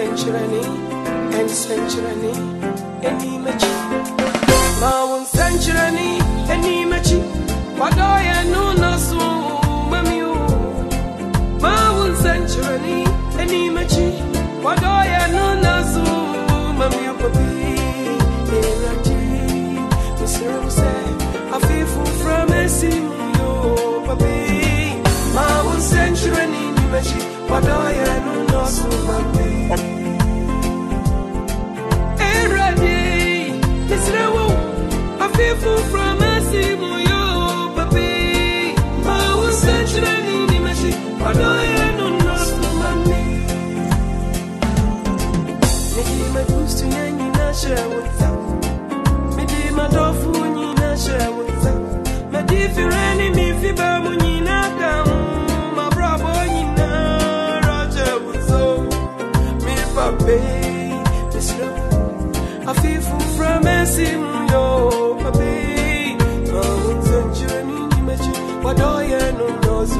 century and century any machi Mawun century any machi Wadoya no nasu mamiu Mawun century any machi Wadoya no nasu mamiu papi Eraji Mr. say I feel from a simu papi Mawun century any machi Wadoya no nasu mamiu Eraji Mr. I feel from a simu papi Mawun century any machi Wadoya no nasu mamiu Me boost to any share with them. Me di my dofu ni na share with them. Me di fireni mi fiba mu ni na kam. My bravo ni na roger with so. Me papi, this love. I feel from Messi yo papi. Mawun century ni mechi. Wadoya no nasu.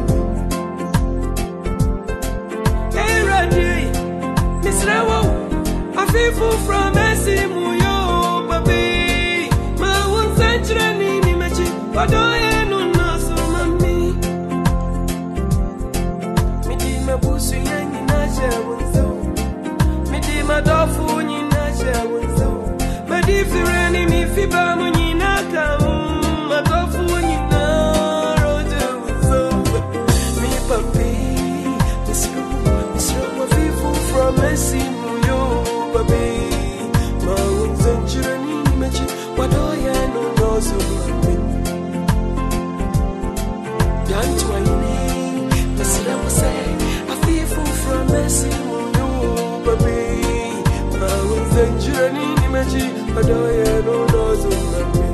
Hey Raji, Miss Rawo. I feel from Messi muyo papi Mawun century ni mechi Wadoya no nasu mami Midi mabusu yanyi na shawunzo Midi madofu ni na shawunzo Midi fireni mi fiba muni na kamu Madofu ni na roja wunzo Mi papi Misro I feel from Messi muyo papi Mawun century ni mechi Wadoya no nasu mami Yantu aini Masira say I feel from Messi muyo papi Mawun century ni mechi Wadoya no nasu mami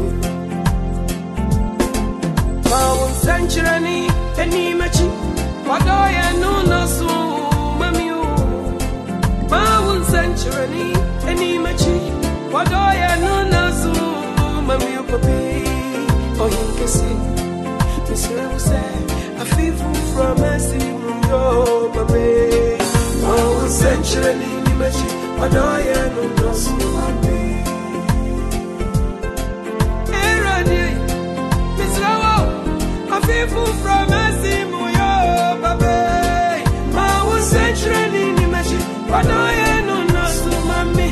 Mawun century ni mechi Wadoya no nasu mami Mawun century any machi Wadoya no nasu mami papi Oh him kesi Mr. say I feel from Messi yo papi Mawun century any machi Wadoya no nasu mami Hey Radi Mr. I feel from Messi yo papi Mawun century any machi Wadoya no nasu mami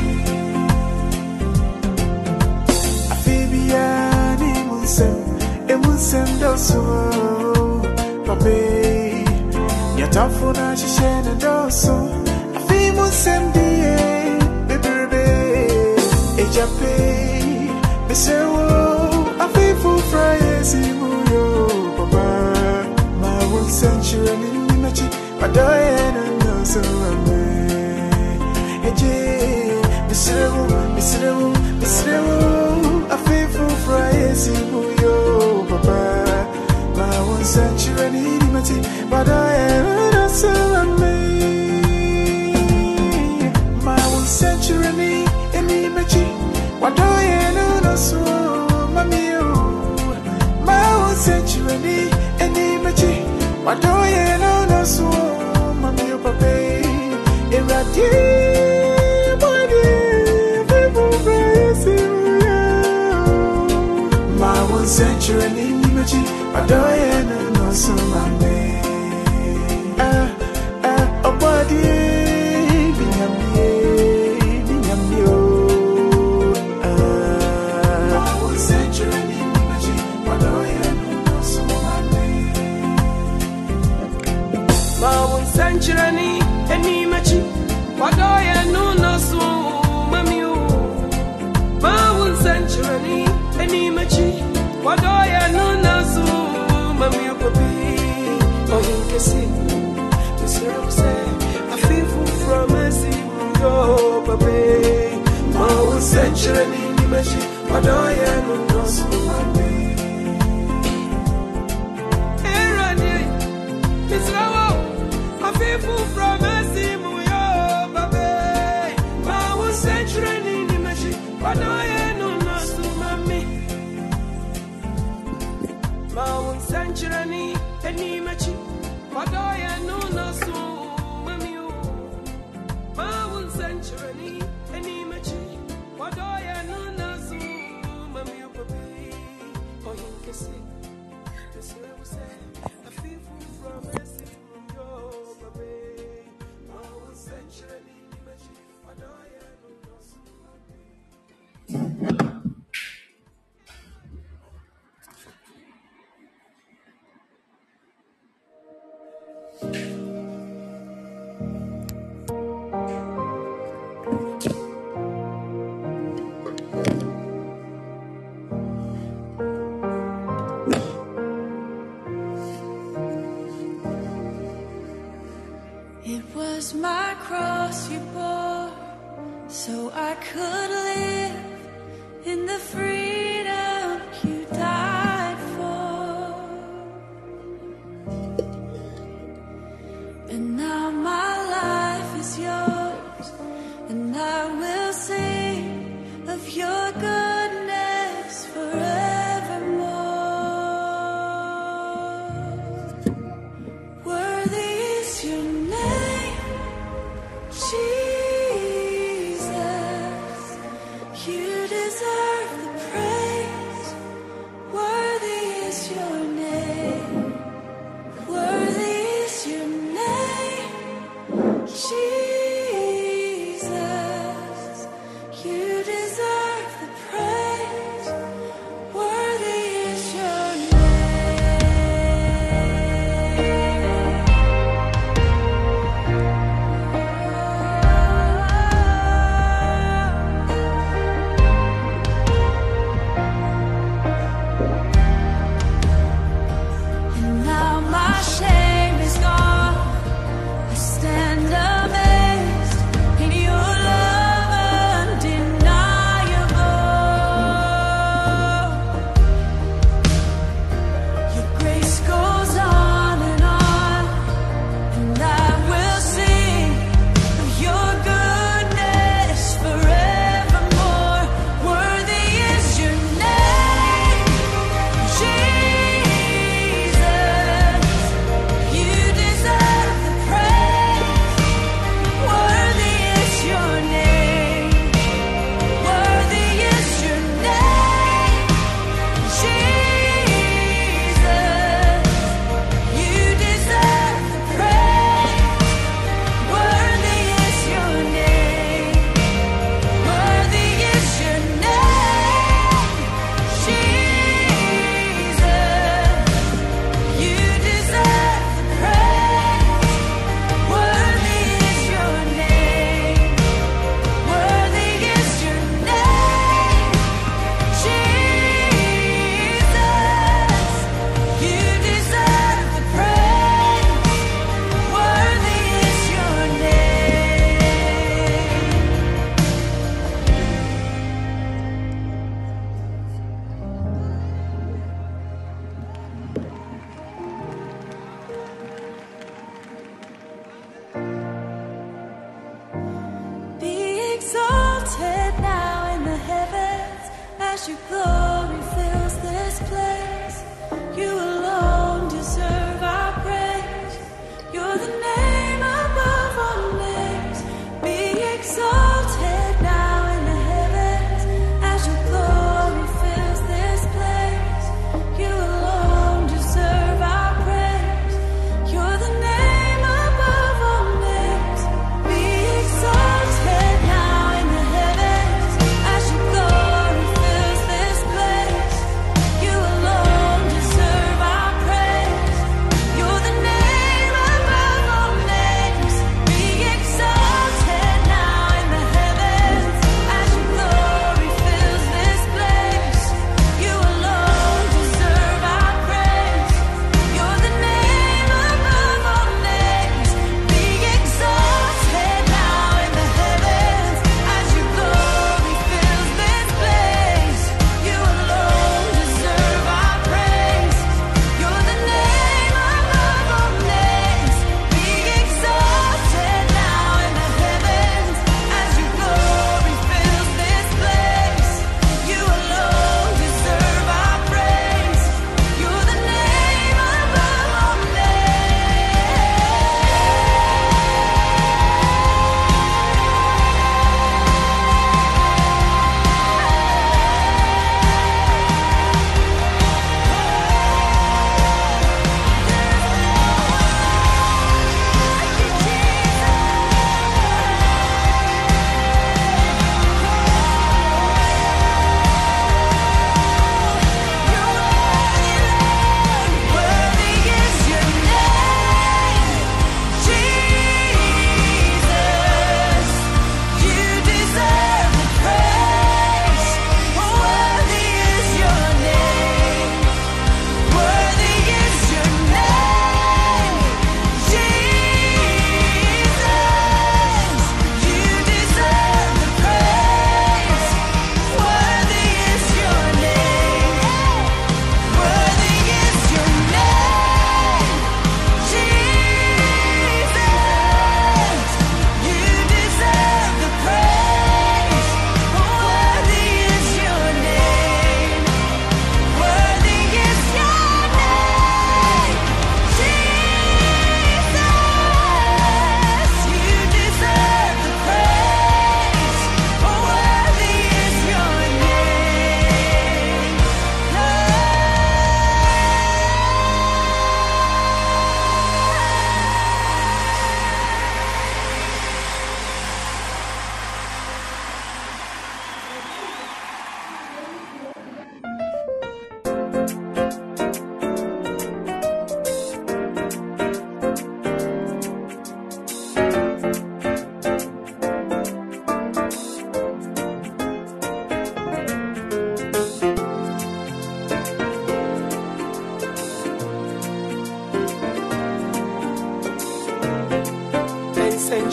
Afibiani Munsem doso Papi Yatafuna shishene doso Afi Munsem die Bebebe Ejape Besewo Afi fufra yesi muyo Papa Mawun century ni mechi Wadoya no nasu mami Misrewu, I feel for Friday, Muyo, Papa. Mawun century ni mati, but I am not so amazed. Mawun century ni machi, what do you know? So, Mamio, Mawun century ni machi, what do you know? So, Mamio, Papa, irradiate. Mawun century ni mechi Wadoya no nasu mami Obadi Binyamye Mawun century ni mechi Wadoya no nasu mami Mawun century ni mechi Wadoya no nasu mami Mawun century any machi Wadoya no nasu mami papi Oh him kesi Mr. say I feel from Messi yo papi Mawun century ni machi Wadoya no nasu mami Eradi Mr. I feel from Messi yo papi Mawun century ni machi Wadoya no nasu mami Mawun century any machi Wadoya no nasu mami Mawun It was my cross you bore, so I could live in the freedom you died for. And now my life is yours, and I will sing of your goodness forevermore. Worthy is your name, Jesus. You deserve the praise.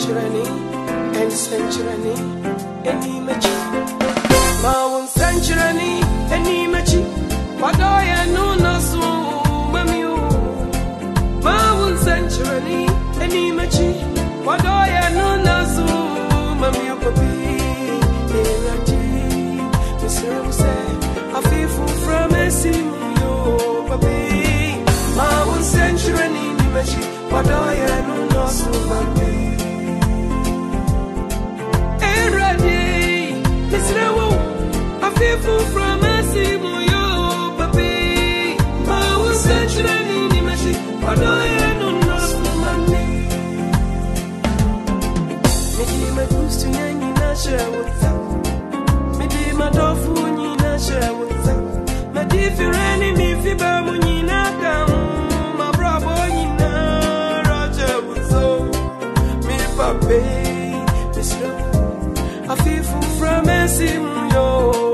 century, and century, and imagery. My century, and imagery. What do I know? No, so, mammy, my century, and imagery. What do I know? No, so, mammy, papi, Mr. Say, I feel from a simu, papi, my century, and imagery. What do I know? No, so, mammy. People from a simu, papi. My own century, ni machi. What do I know? No, money. Me my boost to yangi na share with them. Me my tofu ni na share with them. My different me fiba muni na kam. My bravo ni na Roger with so. Me papi, Mr. I feel from a simu, yo.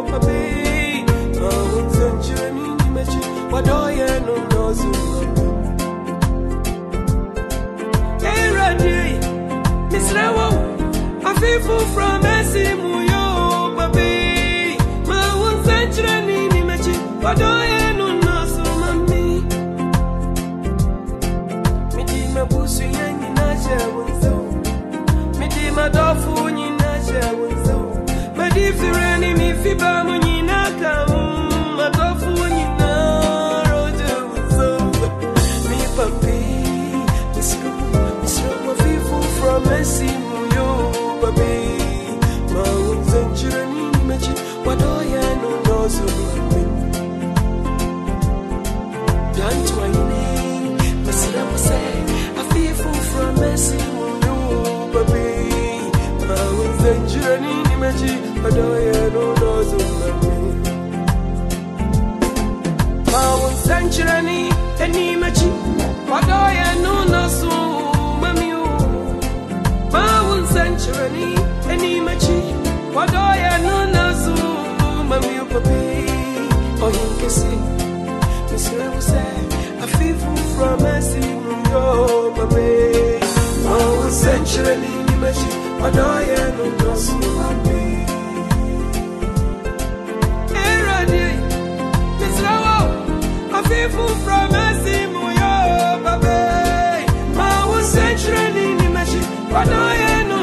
What do you know? No, so hey, Randy, Miss Lewo, I feel from Messimu, yo, baby. My one century, ni mechi. What do you know? No, so mommy. Me di my busu yangi na shawunzo. Me di my dofu ni na shawunzo. Me di fireni mi fiba muni na kam. My dofu ni na. Messi muyo baby, my own century ni mechi. What do you know? No, so don't whine. Messi I say, I feel from Messi muyo baby, my own century ni mechi. What do you know? No, so my own century ni mechi. What do you know? No, so century, any machi. What do I know? No, so mammy, papi, or you can see. Mr. Say, I feel from a simu, baby. Oh, century, any machi. What do I know? No, so mammy. Hey, Randy, Mr. I feel from a simu, baby. My century, any machi. What do I know?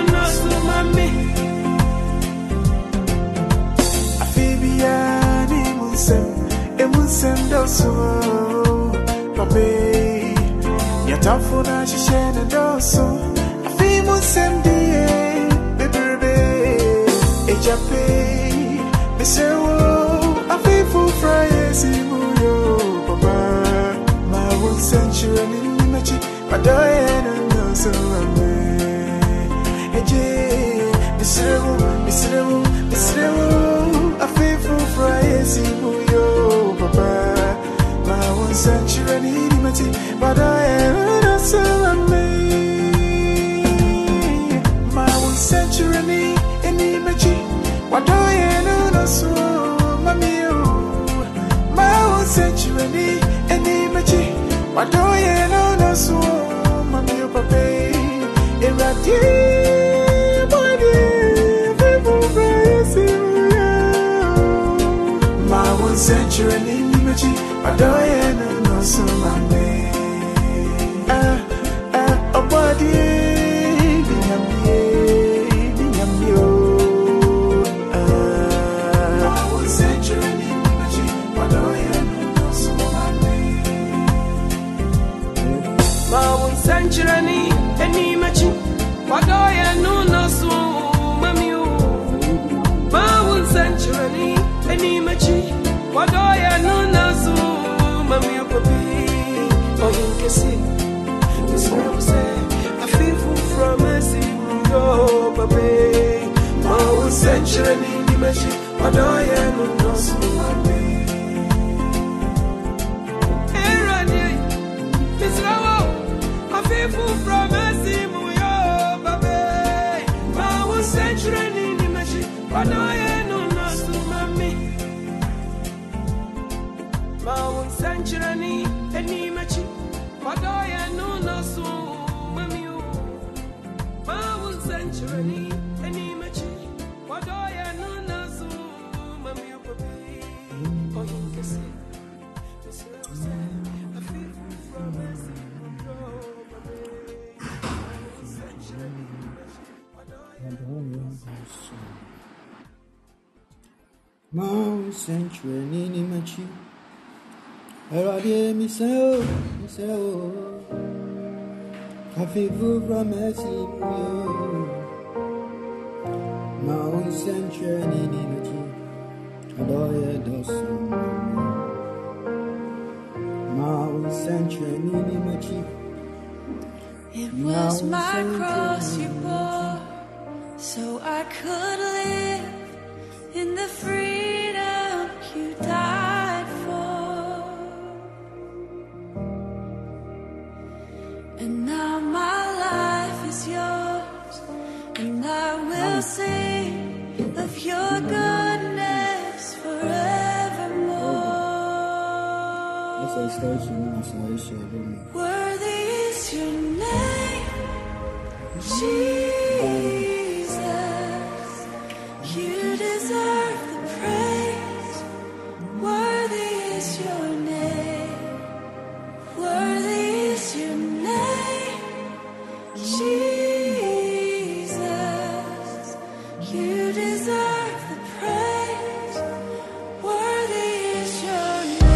Send us so, papi. Yatafuna shishene doso. Afimu semdie, baby, ejape. Misewo, afifu fraye simuyo, papa. My one century ni mechi, padoye no so ame. Eje, misewo, afifu fraye simuyo. My one century ni mati, but I am not so amazing. My one century ni mati, what do I know? So mommy, my one century ni mati, what do I know? So mommy, papa, irradiate body, people praising you. My one century ni I don't know so many. A body, I was century, I don't know so many. My one century, any machi. What do I know? No, so mammy. My one century, any machi. What do I know? No, so mammy, papi, or you can see. Mr. Say, I feel from a simu, papi. My own century, ni machi. What do I know? No, so mammy. Hey, Randy, Mr. I feel from a simu, papi. My own century, ni machi. What do I know? No, so mammy. My own century, any machi. What do I know? No, so mammy. My own sanctuary, any machi, what do I know Nasu, Mammy Papi, or in the sea. I feel from us. Mount Sanctuary, Nini Machi. Eradi Miseo, Kafifu from Messi. Mount Sanctuary, Nini Machi. Adoya Dosum. Mount Sanctuary, Nini Machi. It was my cross you bore, so I could live in the freedom you died for. And now my life is yours, and I will sing of your goodness forevermore. Worthy is your name, Jesus. You deserve the praise. Worthy is your name. Worthy is your name, Jesus. You deserve the praise. Worthy is your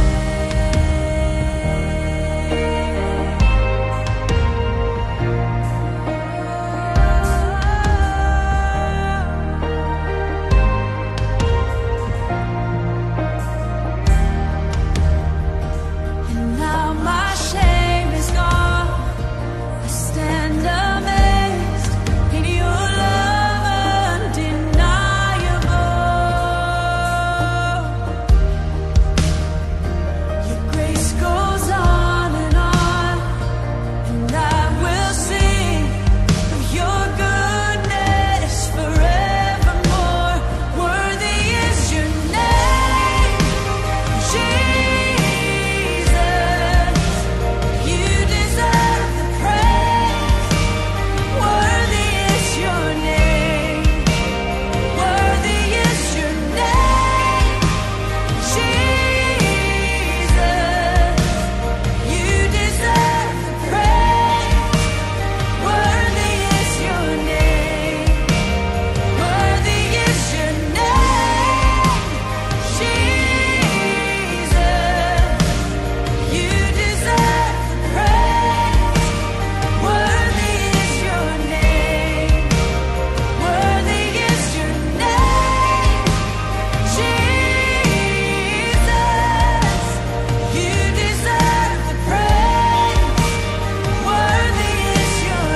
Now my shame is gone. I stand amazed in your love undeniable. Your grace goes on, and I will sing of your goodness forevermore. Worthy is your name, Jesus. You deserve the praise. Worthy is your name. Worthy is your name, Jesus. You deserve the praise. Worthy is your name. Worthy is your name, Jesus. You deserve the praise. Worthy is your name. Worthy is your name, Jesus. You deserve the praise. Worthy is your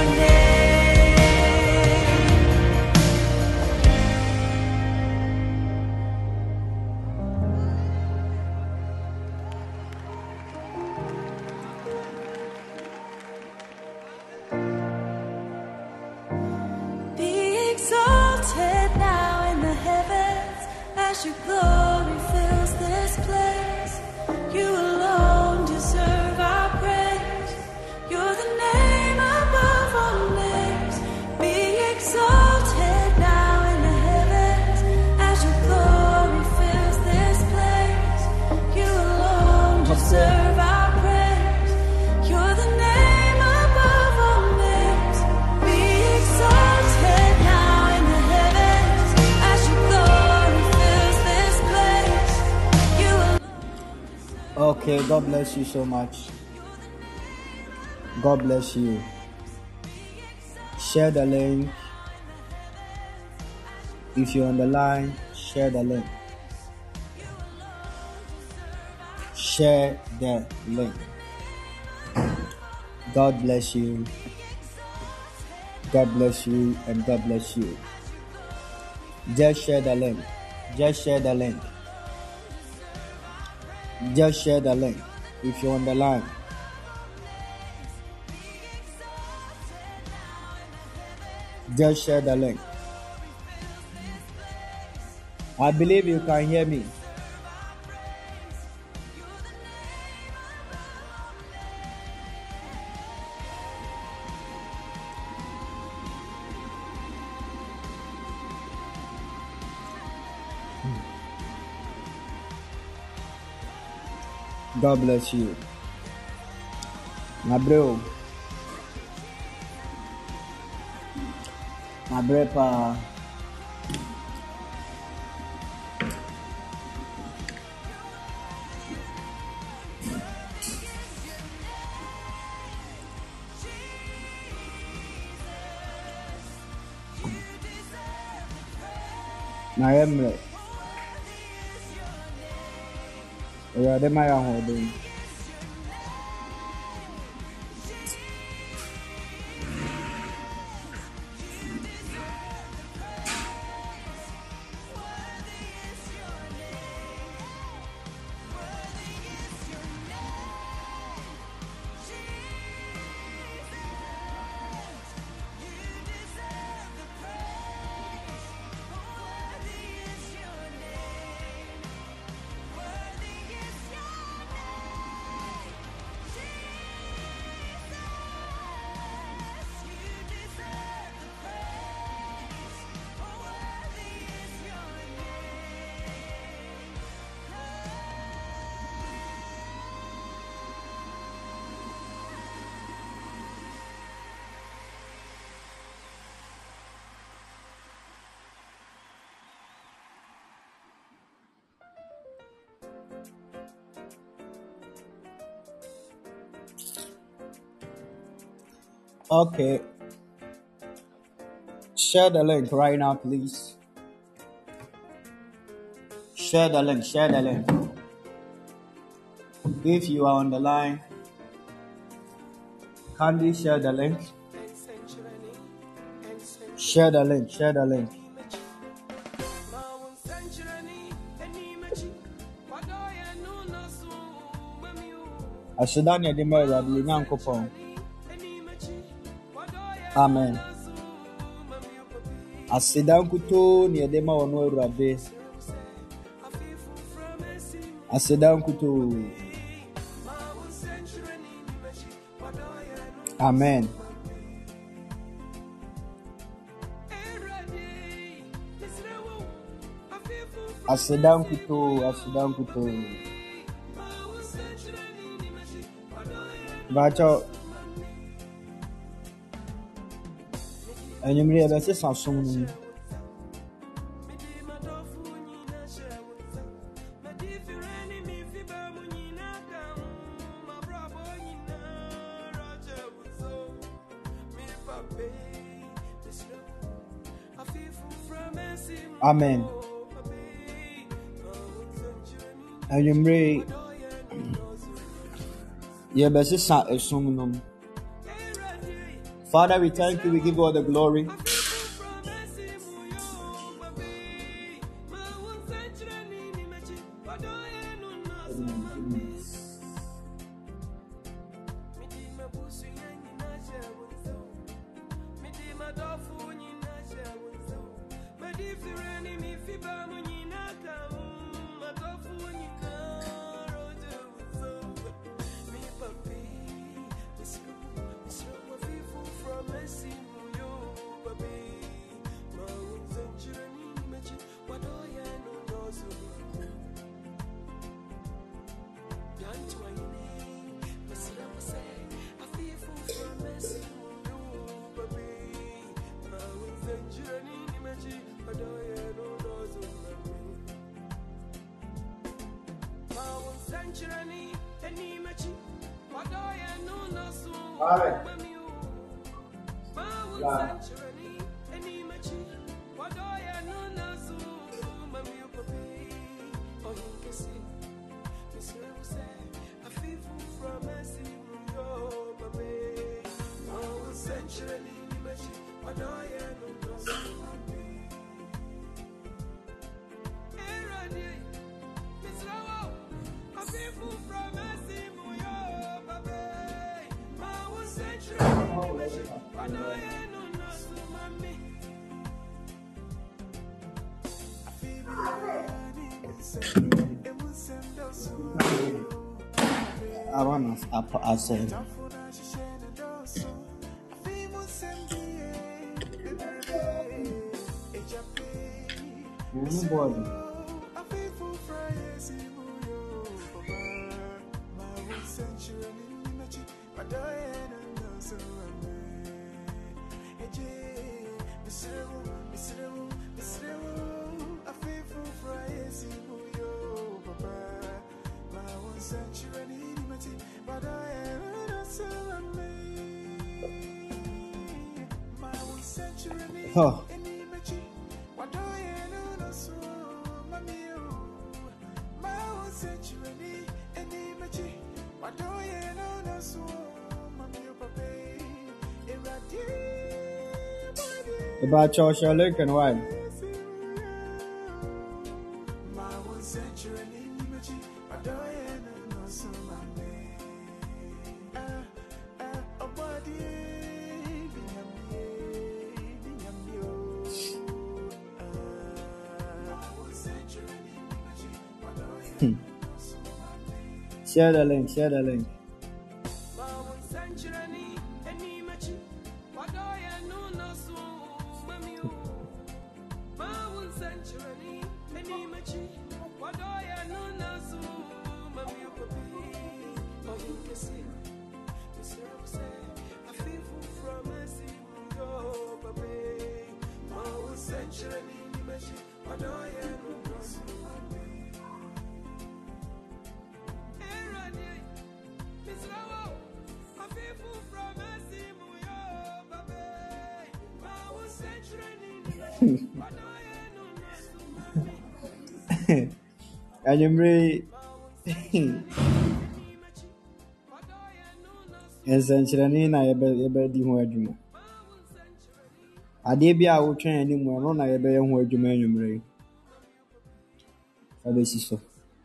Be exalted now in the heavens as your glory fills this place. You alone deserve our praise. You're the name above all names. Be exalted now in the heavens as your glory fills this place. You alone deserve our praise. You're the name above all names. Be exalted now in the heavens as your glory fills this place. You alone. Okay, God bless you so much. God bless you. Share the link. If you're on the line, share the link. Share the link. God bless you. God bless you and God bless you. Just share the link. Just share the link. Just share the link if you're on the line. Just share the link. I believe you can hear me. God bless you. My bro. My brother. My emre. Awurade ma yɛ ahoɔden. Okay. Share the link right now, please. Share the link. If you are on the line, kindly share the link. Share the link. Ashidan yedima Awurade Nyankopɔn. Amen. Asidan kuto ni yedima ono Awurade. Asidan kuto. Amen. Asidan kuto. Bacho. Enyumri ebese Samsung ni. Amen. Enyumri yebese sa esum. Father, we thank you. We give you all the glory. I said, Oh. About Joshua Lincoln, why? Share the link, share the link. And you may essentially na ebe di ho adwuma. Ade bia wo twen animu no na ebe ho adwuma anwumre. Abesi so.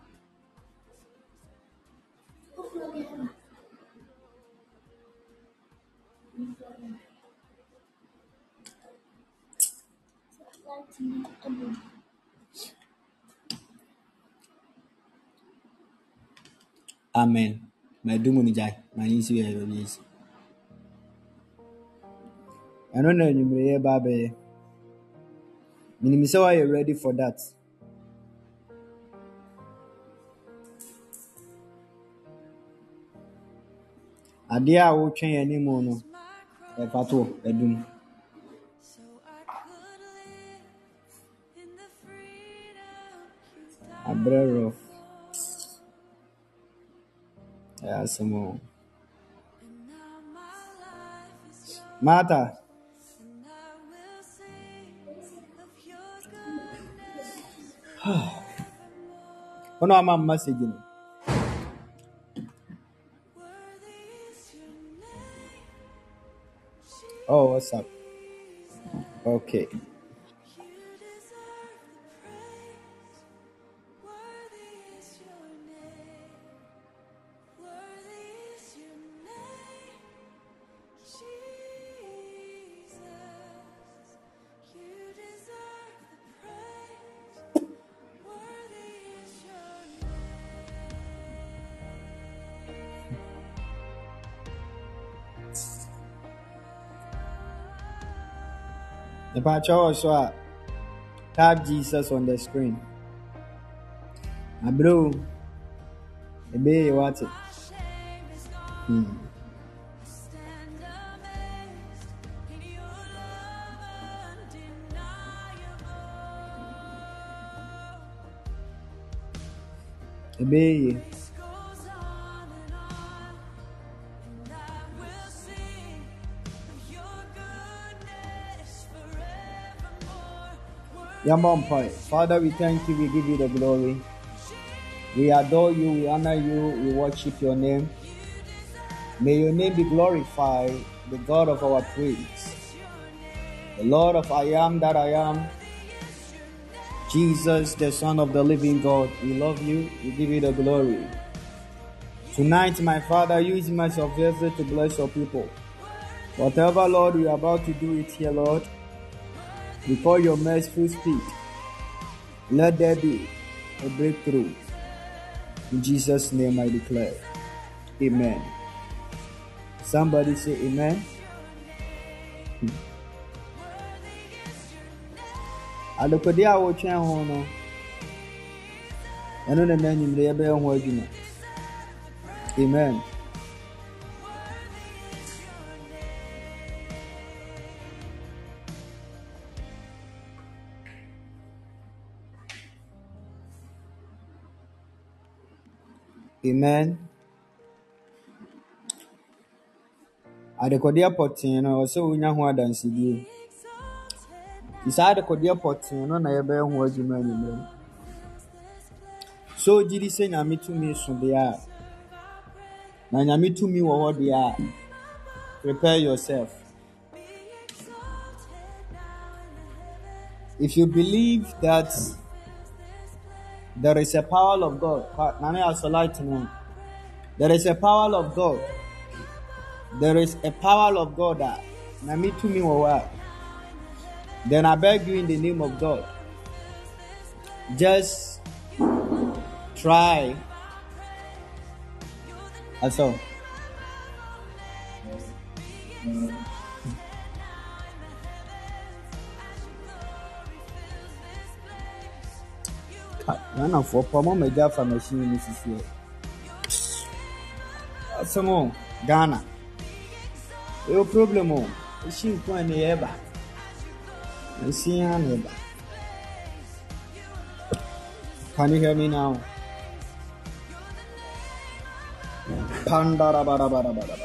Amen. My dumuni jai. My isi ya yes. Ano na anwumre ye ba be. Minimisa why you ready for that. Ade a wo twen animu no e pato edum. Abrero. Yeah, some more. Martha. Oh no, I'm messaging. Oh, what's up? Okay. The patch also tap Jesus on the screen. Bro, baby, what it? Baby. Yeah, mom, Father, we thank you, we give you the glory. We adore you, we honor you, we worship your name. May your name be glorified, the God of our praise. The Lord of I am that I am. Jesus, the Son of the living God. We love you, we give you the glory. Tonight, my Father, use me as your vessel to bless your people. Whatever, Lord, we are about to do it here, Lord. Before your merciful speed, let there be a breakthrough. In Jesus' name I declare. Amen. Somebody say amen. Adokodi a wo twen ho no. Eno na nanyim le be ho adwuma. Amen. Amen. Adekodi apotin no so unya ho adansidi. Inside the Kodia Potting, no, I ever was you man. So, did he say, Nami to me, so they are. Nami to me, what they are. Prepare yourself. If you believe that there is a power of God, there is a power of God. There is a power of God that Nami to me, what? Then I beg you in the name of God, just try. That's all. None of for Pomo Megafa machine, Mrs. Some Ghana. No problem. She can't ever. I see her neighbor. Can you hear me now? Pandara.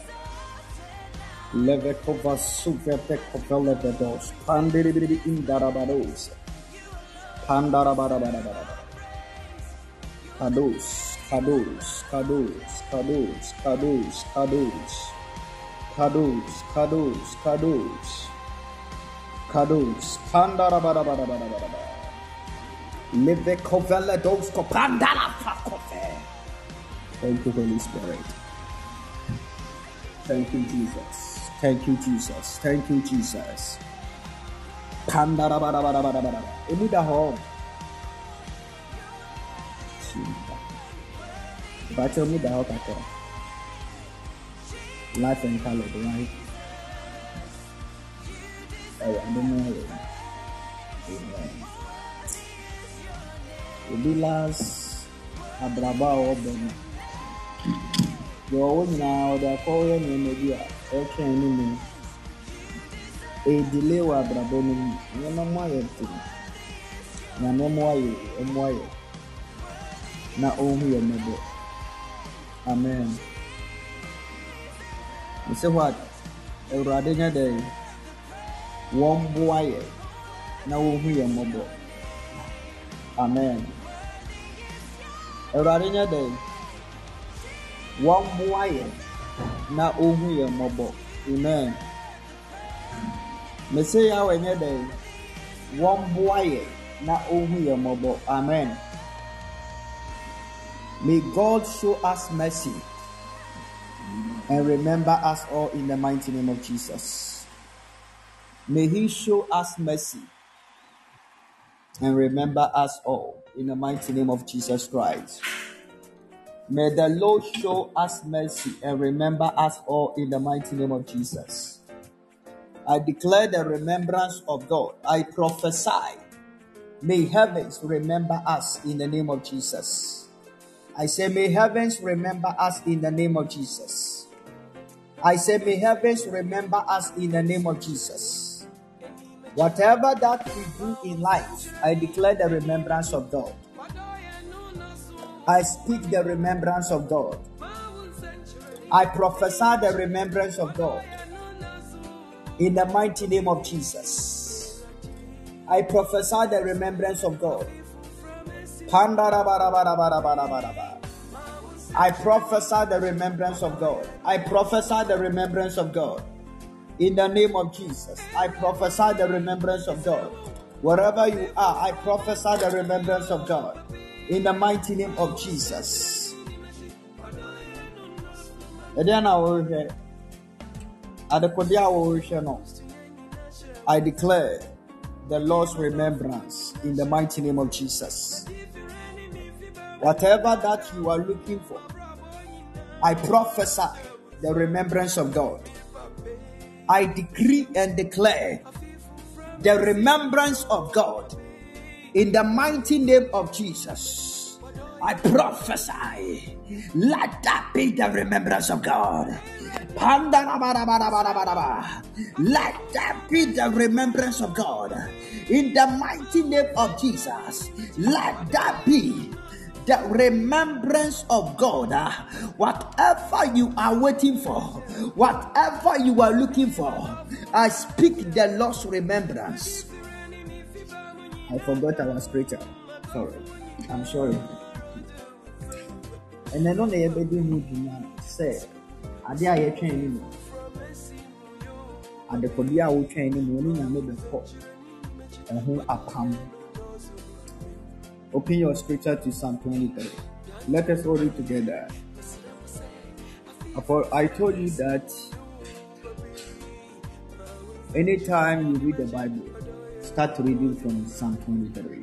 Levekova Suvepekova Levedos. Pandiri in Darabados. Pandara. Kados. Pandara. Levekovela dos Kopandara Fakofe. Thank you, Holy Spirit. Thank you, Jesus. Pandara. Emuda home. Battle me the hot. Life and color, right? I don't know. Bilas Abraba Oben. Go now, the call in media. Okay, anymore. A delay wa Abraboni. No more thing. No more. Na only a mother. Amen. You say what? A radina day. One boy. Na only a mother. Amen. A radina day. One boy. Na only a mother. Amen. Messiah when you day. One boy. Na only a mother. Amen. May God show us mercy and remember us all in the mighty name of Jesus. May He show us mercy and remember us all in the mighty name of Jesus Christ. May the Lord show us mercy and remember us all in the mighty name of Jesus. I declare the remembrance of God. I prophesy. May heavens remember us in the name of Jesus. I say, may heavens remember us in the name of Jesus. I say, may heavens remember us in the name of Jesus. Whatever that we do in life, I declare the remembrance of God. I speak the remembrance of God. I prophesy the remembrance of God. In the mighty name of Jesus. I prophesy the remembrance of God. I prophesy the remembrance of God. I prophesy the remembrance of God. In the name of Jesus, I prophesy the remembrance of God. Wherever you are, I prophesy the remembrance of God. In the mighty name of Jesus. I declare the Lord's remembrance in the mighty name of Jesus. Whatever that you are looking for, I prophesy the remembrance of God. I decree and declare the remembrance of God in the mighty name of Jesus. I prophesy, let that be the remembrance of God. Let that be the remembrance of God in the mighty name of Jesus. Let that be the remembrance of God. Whatever you are waiting for, whatever you are looking for, I speak the Lord's remembrance I forgot our scripture. Sorry. I'm sorry. And I know they ever do me say, I dare you training. And the Kodia will train him when you know the pot. And who are come. Open your scripture to Psalm 23. Let us all read together. I told you that anytime you read the Bible, start reading from Psalm 23.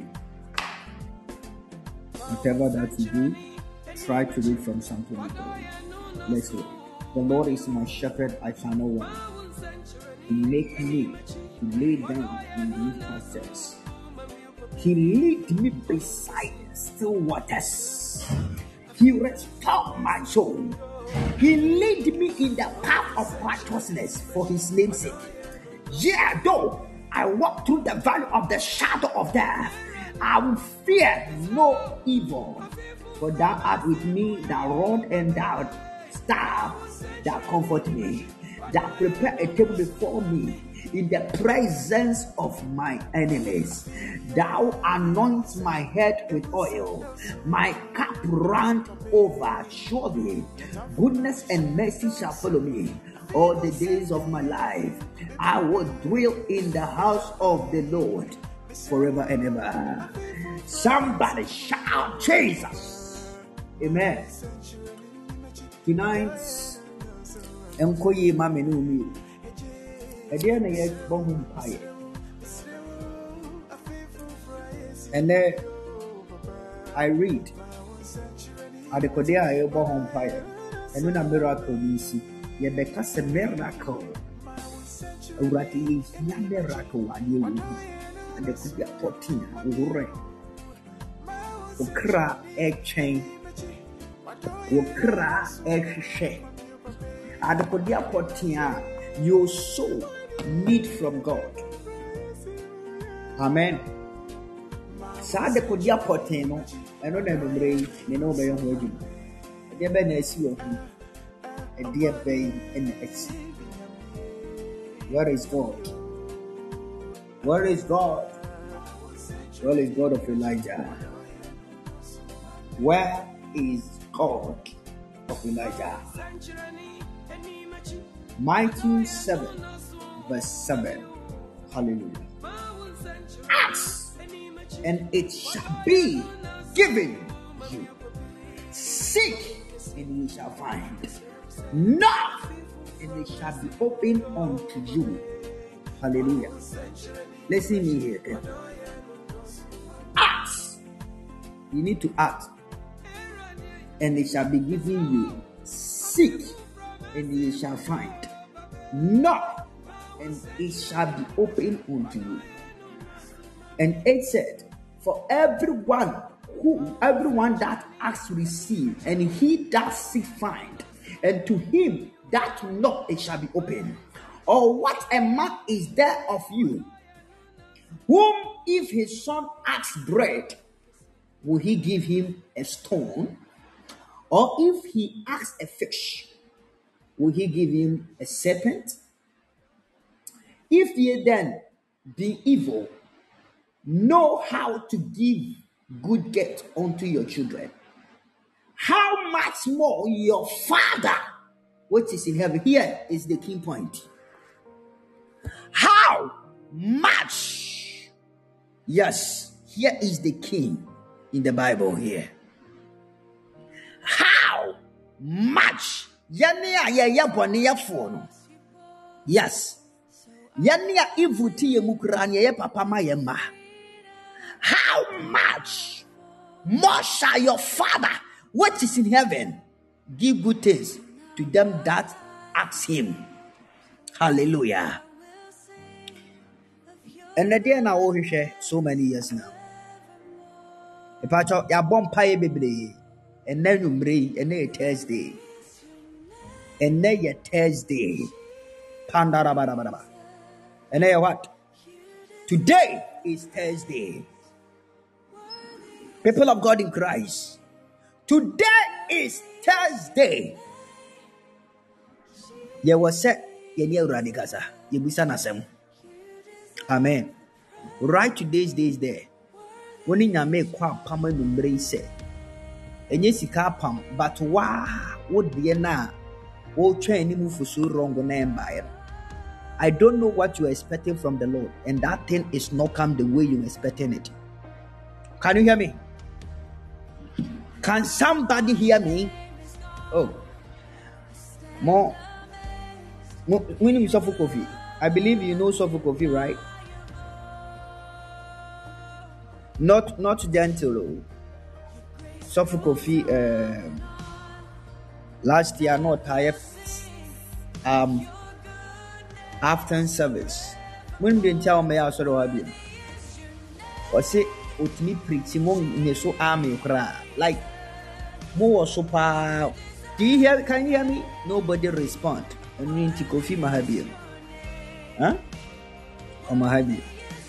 Whatever that you do, try to read from Psalm 23. Let's read. The Lord is my shepherd, I shall not want. He make me to lay down in green pastures. He lead me beside still waters. He restored my soul. He lead me in the path of righteousness for his name's sake. Yeah, though I walk through the valley of the shadow of death, I will fear no evil. For thou art with me, thou rod and thou staff, thou comfort me. Thou prepare a table before me in the presence of my enemies. Thou anoint my head with oil. My cup runneth over. Surely goodness and mercy shall follow me all the days of my life. I will dwell in the house of the Lord forever and ever. Somebody shout Jesus. Amen. Tonight, Enkoye mamenu mi. Ede na ye bohum paye. And then I read Adekode aye bohum paye. Enu na miracle ni si. Ye beka se miracle. Urati ya miracle wa ye wu. Adekode apotin ure. Okra e chain. Okra e hwehwe. Adekode apotin your soul need from God. Amen. Sa de kodia poteno eno na numre ne no be ho adu. De be na esi wo hu. E de be in esi. Where is God? Where is God? Where is God of Elijah? Where is God of Elijah? Matthew 7, verse 7. Hallelujah. Ask, and it shall be given you. Seek, and you shall find. Knock, and it shall be opened unto you. Hallelujah. Listen me here. Okay? Ask. You need to ask, and it shall be given you. Seek, and you shall find. Knock, and it shall be opened unto you. And it said, for everyone that asks receive, and he that seek find, and to him that knock it shall be opened. Or what a man is there of you, whom if his son asks bread, will he give him a stone? Or if he asks a fish, will he give him a serpent? If ye then, be evil, know how to give good gift unto your children, how much more your Father which is in heaven? Here is the key point. How much? Yes, here is the key in the Bible here. How much? Yes. How much more shall your Father which is in heaven give good things to them that ask him? Hallelujah. And the day now so many years now. If I talk ya bomb pie baby, and then you bring and then Thursday. And then your Thursday. Pandarabarabaraba. And then what? Today is Thursday. People of God in Christ. Today is Thursday. There was said Yenya Radikaza. Yebisa Nasem. Amen. Right today's day is there. When in your make quite pama embrace. And yes, you can't pump, but wow, what be na? Oh, train him for so wrong on empire. I don't know what you're expecting from the Lord, and that thing is not come the way you're expecting it. Can you hear me? Can somebody hear me? Oh, more. When you suffer coffee, I believe you know suffer coffee, right? Not gentle. Suffer coffee. Last year, not tired. After service, when they tell me I saw what you or say, "What me preaching in so army cry like more super." Do you hear? Can you hear me? Nobody respond. And me to coffee Mahabi, huh? Or Mahabi.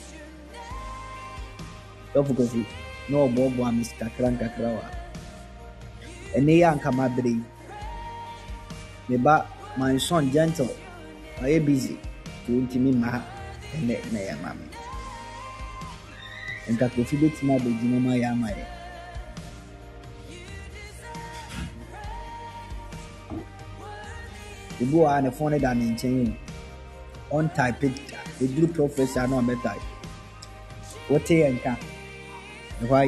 Of coffee. No Bob Miss Kakranka Krawa. And they are come abri. My son gentle. I am busy to intimate my and let me, mammy. And that if you did not be my yamay. The boy and the phone than in chain on type it. The group professor no better. What a and can why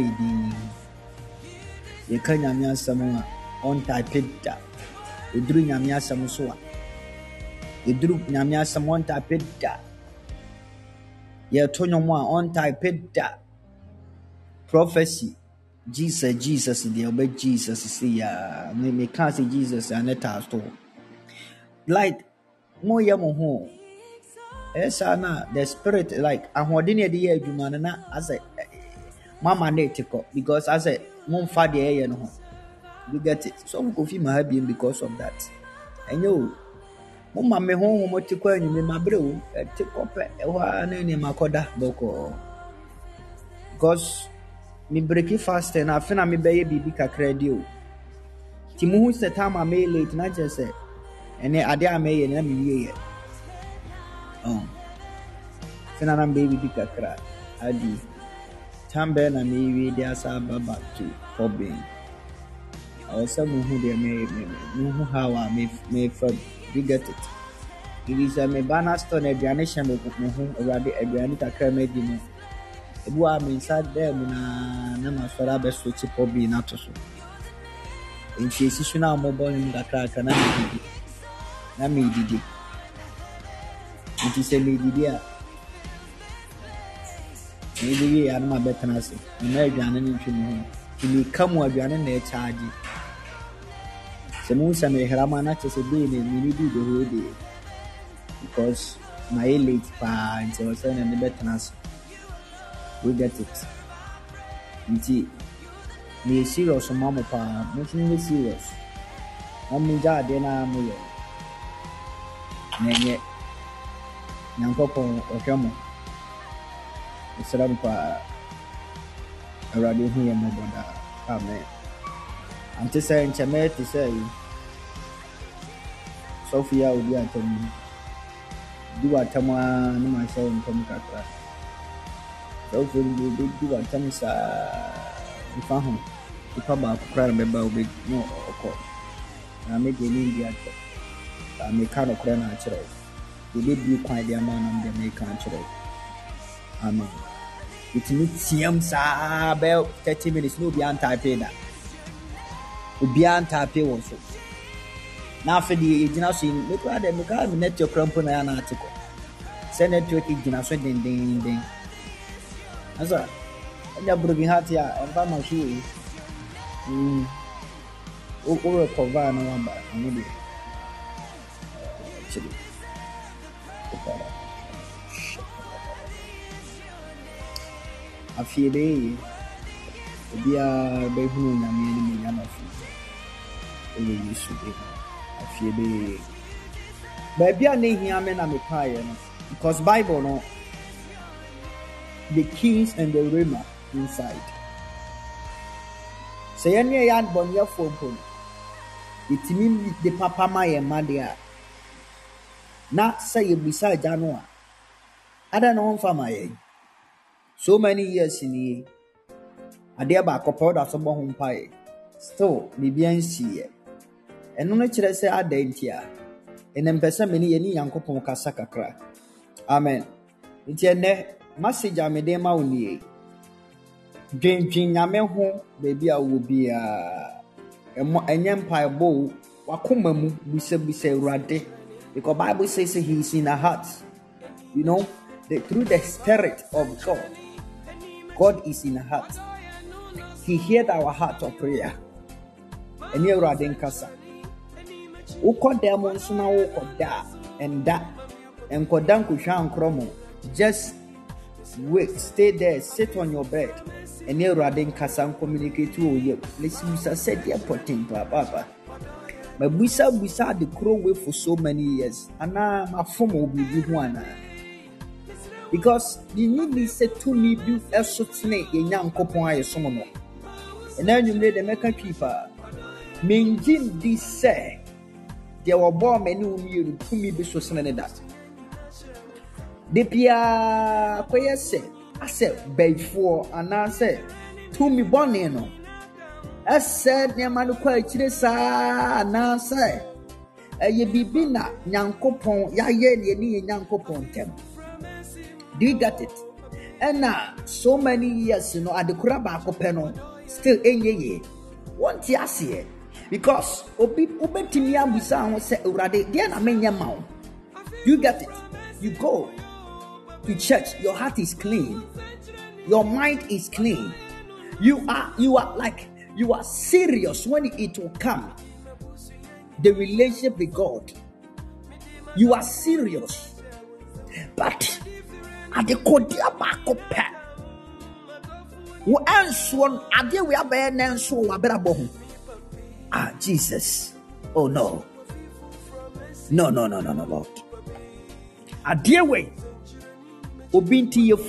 the Kanyamia Samoa on type it. The dream Yamia Samoa. The group Namia someone type it. Yeah, Tonoma on type it. Prophecy. Jesus, the obey Jesus. See, me can't say Jesus and let us talk. Like, more yamoho. Esana, the spirit, like, I'm holding the year, you man, as a mama netiko, because as a mom father, you know, you get it. Some coffee my husband because of that. And you. Mama me home mo tikwa nyime mabrew tikope ewa na ni makoda boko because me break fast and afina me beye bibi kakra di o ti mu hu se time am late na je se ene ade am ye na me ye fina na baby bibi kakra adi tambe na me wi dia sa baba to problem also mu hu de me hu how me for you get it. It is a me banner stone a bianisha me who already a bianita cremedi. A boy am inside there, na masora best switch up be not so. In she is now mobile in the crack and I me did it. It is a lady dear. Maybe I am a better nurse. American and you come with your name charge. Musa me Ramana to say being in the whole day because my late pa and so was and the betterness. We get it. Me serious mama pa, nothing serious. I'm ja dena muyo. Nenye Yankopon or Kamo. It's a pa already here, my brother. Amen. I'm just saying, Chamet to say. Sophia will be at me. Do a tama, no myself in Tomcatra. Sophia will be do a tamsa. If I'm home, if I'm about to cry about big no or call. I make an India. I make kind of cry natural. They did be quite the amount of the make natural. Amen. It means Siam about 30 minutes, no beyond typing that. Beyond typing also. Now for the generation, look at them. Look at net your crumple na an article. Send it to a generation. Ding. That's all. And you're broken heart here. And by my shoe, over a cover no one by maybe. Actually, I feel they be a baby. I'm a few. You should be. Baby, I need him and I'm because Bible no the keys and the rima inside. Say any yan bon your phone. It means the papa my madia. Not say beside January. I don't know for my so many years in here. adeɛ baako pɛ ɔda so bɔ ho mpaeɛ still biribiara nsiiɛ ɛno no kyerɛ sɛ ada nti a ɛnɛ mpɛ sɛ mene yɛne Nyankopɔn kasa kakra. Amen. Nti ɛnɛ message a mede ma wo nie, dwendwen Nyame ho baabi a wɔ biara ɛnyɛ mpaebɔ o, wakoma mu bisa Awurade, because Bible says he is in our hearts. You know, through the Spirit of God, God is in our heart. He heard our heart of prayer. And you are in casa. Ukodemo suna ukoda and that and kodan kushan kromo. Just wait, stay there, sit on your bed, and you are in casa and communicate to you. Listen, said the important papa. My busa the crow way for so many years, and now my form will be one. Because the need said to me, do a certain young couple. I summon. And then you made the American keeper. Minjin this say, there were born many who to me be so sending that. The Pia Quay said, I said, before, and I said, to me born. I said, Yamanu quite chisa, and I said, ye be bina, Yankopon, Yaye, Yankopon tem. Do you get it? And now, so many years, you know, at the Kurabako panel, still enye. Won't you see it? Because Obetimia Busan will say, Urade, then I mean your mouth. You get it? You go to church, your heart is clean, your mind is clean. You are serious when it will come. The relationship with God. You are serious. But at the Kodia Bako Pet. Who else one idea we are being and so waberabo. Ah, Jesus. Oh no. No, Lord. A dear way. Obinti your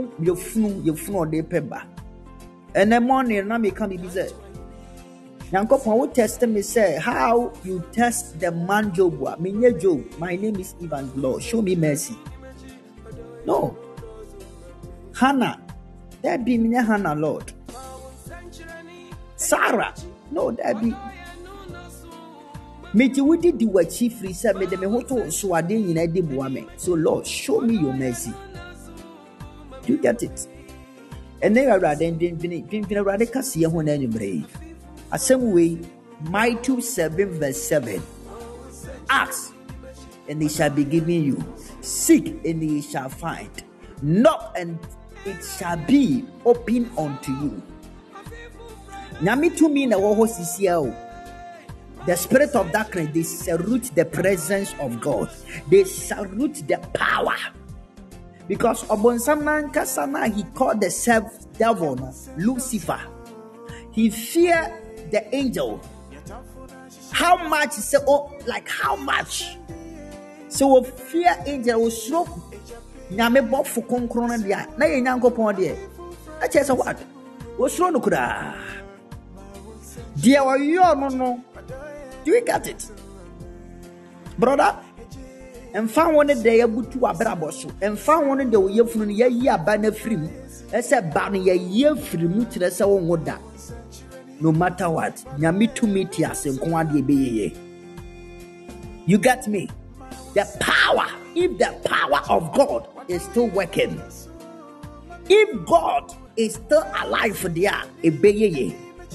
funu de peba. And the morning na me come be said. Yankopon will test me say how you test the man Job. Me Job. My name is Ivan Lord. Show me mercy. No. Hannah. There be me Hannah, Lord. Sarah. No, there be. Me ti wudi di wa chief said me de me hoto so ade nyina de boame. So Lord, show me your mercy. Do you get it? And then rather than rather kasi ho na nyumre. Asem way Matthew 7 verse 7. Ask and it shall be given you. Seek and ye shall find. Knock and it shall be open unto you. Nyami to me na wo sisiao. The spirit of darkness, they salute the presence of God. They salute the power. Because Obonsamnan Kasana, he called the devil Lucifer. He feared the angel. How much? Like how much? So fear angel was stroke. Nyame bop for concrona dia. Na ye Nyankopon dia. I tell you what. Was stroke no kura. Dia wa yo no. Do you get it? Brother? And found one day abutu abraboso. And found one day ye funu ye abana free. I said ban ye free mu tire se won woda. No matter what, nyame to meet us and kwade be ye. You get me? The power, if the power of God is still working, if God is still alive for there, ye.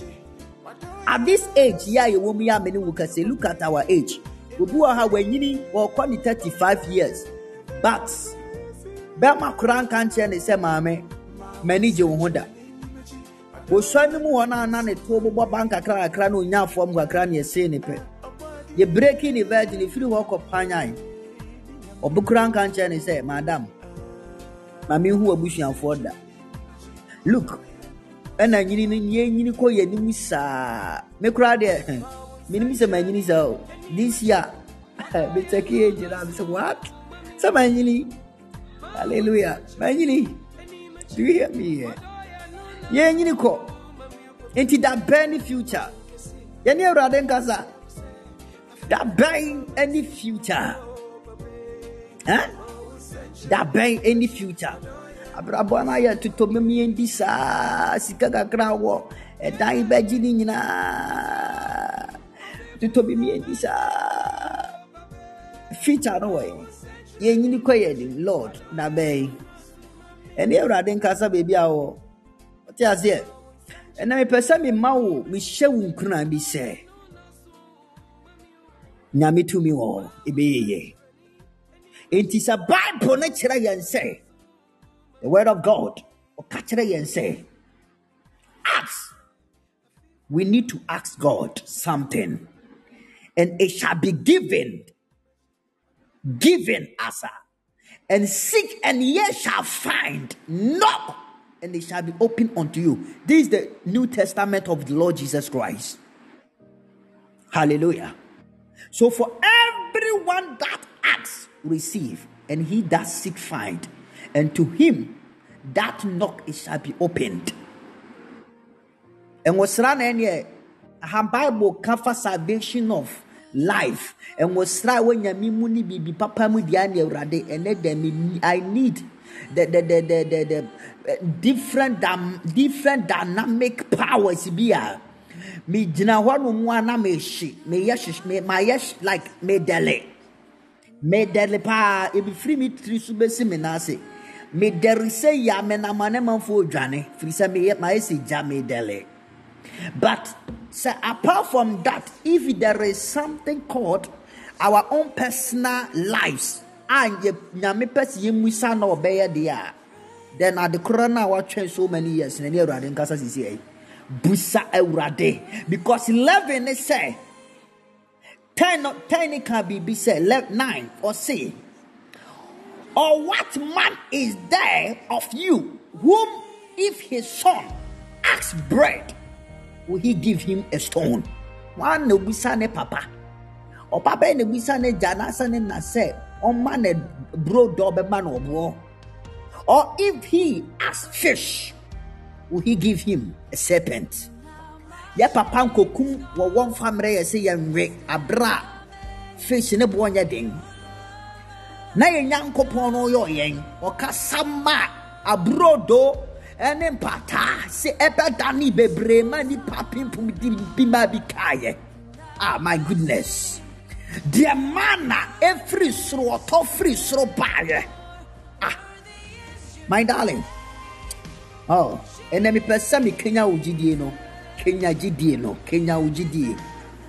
At this age, you won't be many who can say, look at our age. We do have when you or 35 years. But Bama Kran can't say, Mammy, manage your Honda. We saw no one on a turbo bank a crano now from Wakrania saying it. You breaking the virgin if you walk up Pine. Or Bukran can't say, Madam, Mammy who are bushing for that. Look. And I need call your name, sir. Me cry there. Minimum man is out. This year, Mr. Cage, and so what? Some man, hallelujah. Man, do you hear me? Yeah, you call into that burning future. You know, Radenkaza, that burn any future, huh? That burn any future. abrabɔ no ayɛ totomemie ndi saa sika kakra wɔ ɛdan bɛgye ne nyinaa totomemie ndi saa future no wɔ yɛnyini kɔ yɛ nim Lord na bɛyi ɛne Awurade nkasa baabi a wɔ ɔte aseɛ ɛna mepɛ sɛ memma wo mehyɛ wo nkuna bi sɛ nyame tumi wɔ ɛbɛyɛyɛ enti sɛ Bible no kyerɛ yɛn sɛ the word of God ɔka kyerɛ yɛn sɛ ask, we need to ask God something and it shall be given us, and seek and ye shall find, knock and it shall be opened unto you. This is the New Testament of the Lord Jesus Christ. Hallelujah. So for everyone that asks, receive, and he that seek find, and to him that knock it shall be opened. And what's running here, Bible cover salvation of life, and was try when yami muni bibi papa mu diani urade, and let them I need the different dynamic powers be me jina wanu mwana me shi me yesh me my yesh like me dele pa ebi free me tri subesi me nase me dere say ya me na mane manfo dwane free say me my say ja me dele. But so apart from that, if there is something called our own personal lives, and nyame pesi yemusa na obeye dia, then at the corona watching so many years in the Radin Casa CCA, busa Eurade, because 11 is say 10 can be said 9 or say, or what man is there of you whom if his son asks bread, will he give him a stone? One no bisane papa. Or papa ne bisane jana sane na say on man a bro dobe man or bro. Or if he asks fish, will he give him a serpent? Ya papa kokum wa one family say yamre abra fish ne bonya ding. Na yankopon no yo yen or kasama abro do. And pata se ebedani bebrema ni papim bima bikaye. Ah, my goodness. Dear manna every sro to free sro baye. Ah, my darling. Oh, and then me pesa me Kenya ujidie no. Kenya ujidie.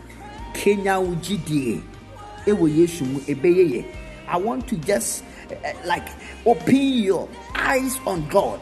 Ewo Yesu mu ebeyeye. I want to just like open your eyes on God.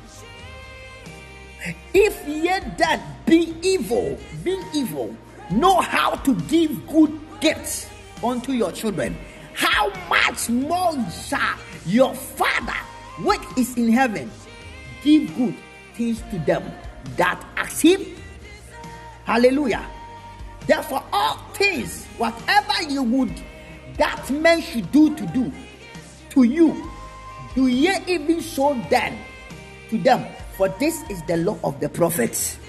If ye that being evil, know how to give good gifts unto your children, how much more shall your Father which is in heaven give good things to them that ask him? Hallelujah. Therefore all things, whatever you would that men should do to you, do ye even so then to them? For this is the law of the prophets.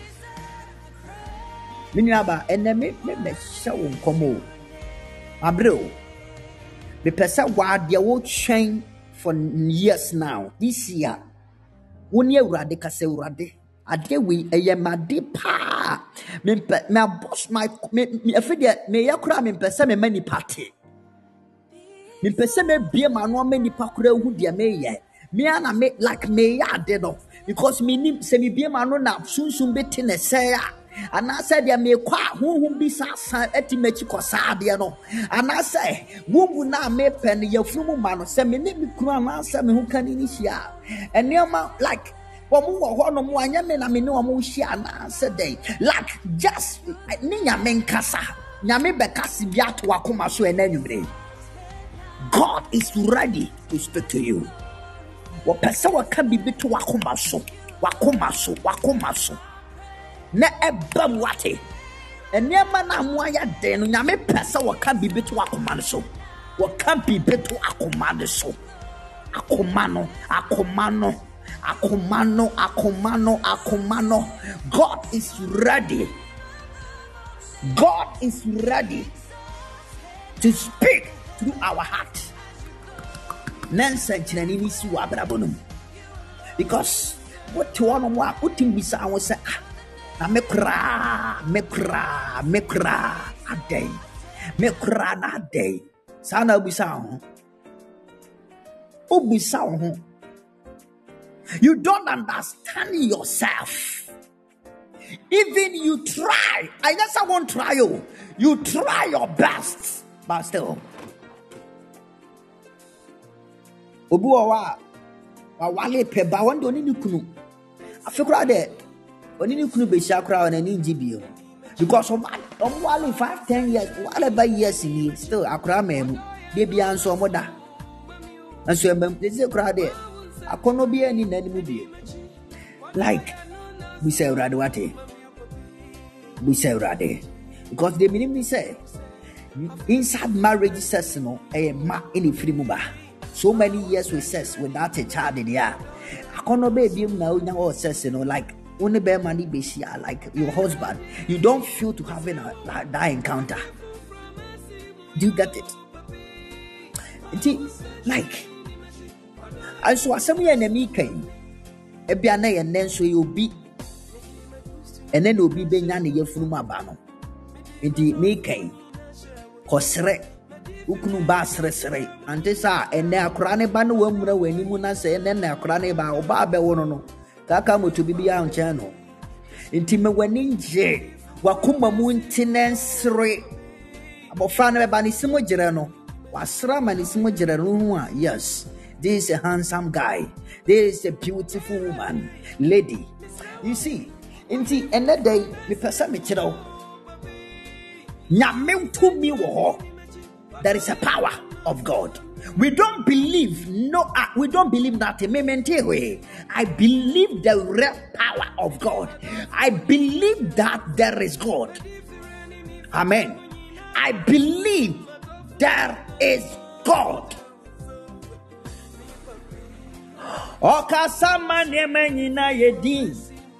Minyaba enemy me show komo. Abro. The person wa dia wo train for years now. This year. Woni urade kase urade. Ade we eyemade pa. Me boss my me afide me yakura me pese me mani party. Me pese me bie ma no mani pakura hu dia me ye. Me ana me like me ya de no. Because me nim se me bie ma no na sunsun beti ne se ya. Ana say dia me kwa honhom bi sa ati machi kosa de no. Ana say wubu na me pen ya fumu ma no se me ni me kunu ana say me hu kan ni hia. Enema like womu wo ho no mo anya me na me ne wo hia na say dey like just ni nyame nkasa. Nyame bekasi bi ato akoma so enanwumre. God is ready to speak to you. Wapesa waka bibi to wakoma so na eba wate enema na moaya den no nyame pesa waka bibi to wakoma so waka bibi to akoma so akomano. God is ready to speak through our heart. Nansa chinani si wabrabonum. Because what one on what putting beside was na me kra a day. Me kra na day. Sana bisao. Obisao. You don't understand yourself. Even you try. I guess I won't try you. You try your best, but still. Obuwa wa wale peba wande oni ni kunu. Afekura de oni ni kunu be shakura on any GBO. Because of wale 5-10 years, whatever years in still akura memu. Baby anso moda. And so they say kura de akono bi ani nani mu bi. Like we say urade. Because the minimum say inside marriage says no a ma in free muba. So many years with sex without a child in the air. Akono baby now says like only bear money be like your husband. You don't feel to having that encounter. Do you get it? Like I saw some enemy came. Ebiana and then so you'll be and then you'll be benyani yefuma bano. Inti me came. Kosre ukunu ba sresre ante sa ene akora ne ba no wamura wani mu na se ene na akora ne ba oba be wono no kaka moto bibia nche no nti me wani nje wakuma mu ntinensre abofra ne ba ni simo gire no wasra ma ni simo gire no hu a yes, this is a handsome guy, this is a beautiful woman, lady. You see nti ene day me pesa me kire o nyame to me wo. There is a power of God. We don't believe, we don't believe that. I believe the real power of God. I believe that there is God. Amen. I believe there is God. Okasama nemenina yedi.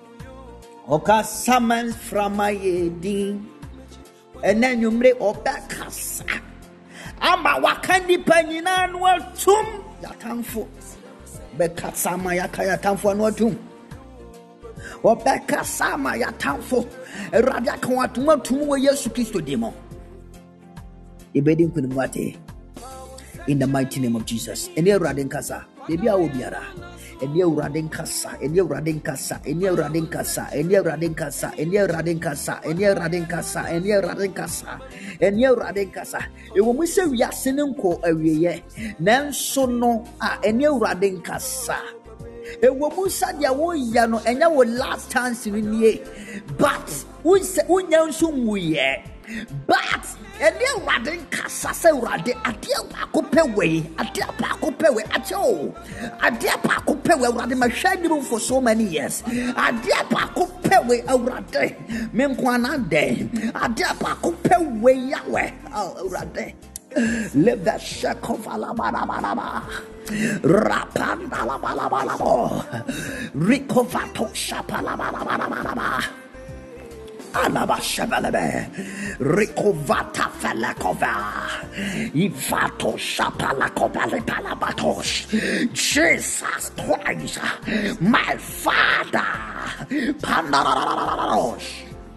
Okasama frama yedi. And then you make okasa. Ama wakandi panyina anwa tum yatamfo beka sama yakaya tamfo anwa tum obeka sama yatamfo erade aka watuma tum we Yesu Kristo demo ibedi kunumwate in the mighty name of Jesus. Ene erade nkasa bebi a obiara ene erade nkasa ene erade nkasa ene erade nkasa ene erade nkasa ene erade nkasa ene erade nkasa ene erade nkasa ene erade nkasa ewo mu se wiase ne nko awieye nanso no a ene erade nkasa ewo mu sadia wo ya no enya wo last chance ni but unya nso muye but ene erade nkasa se erade ade akopewe ade akopewe acho ade akopewe erade ma hwaniru for so many years ade akopewe erade menkwana de ade akopewe yawe erade live that shack of alabanaba rapanda labalaba recovato shapalabalaba Alabashabalebe Rikovata Falakova Ivato Shapalakobale Palabatos Jesus Christ my Father Pandaros.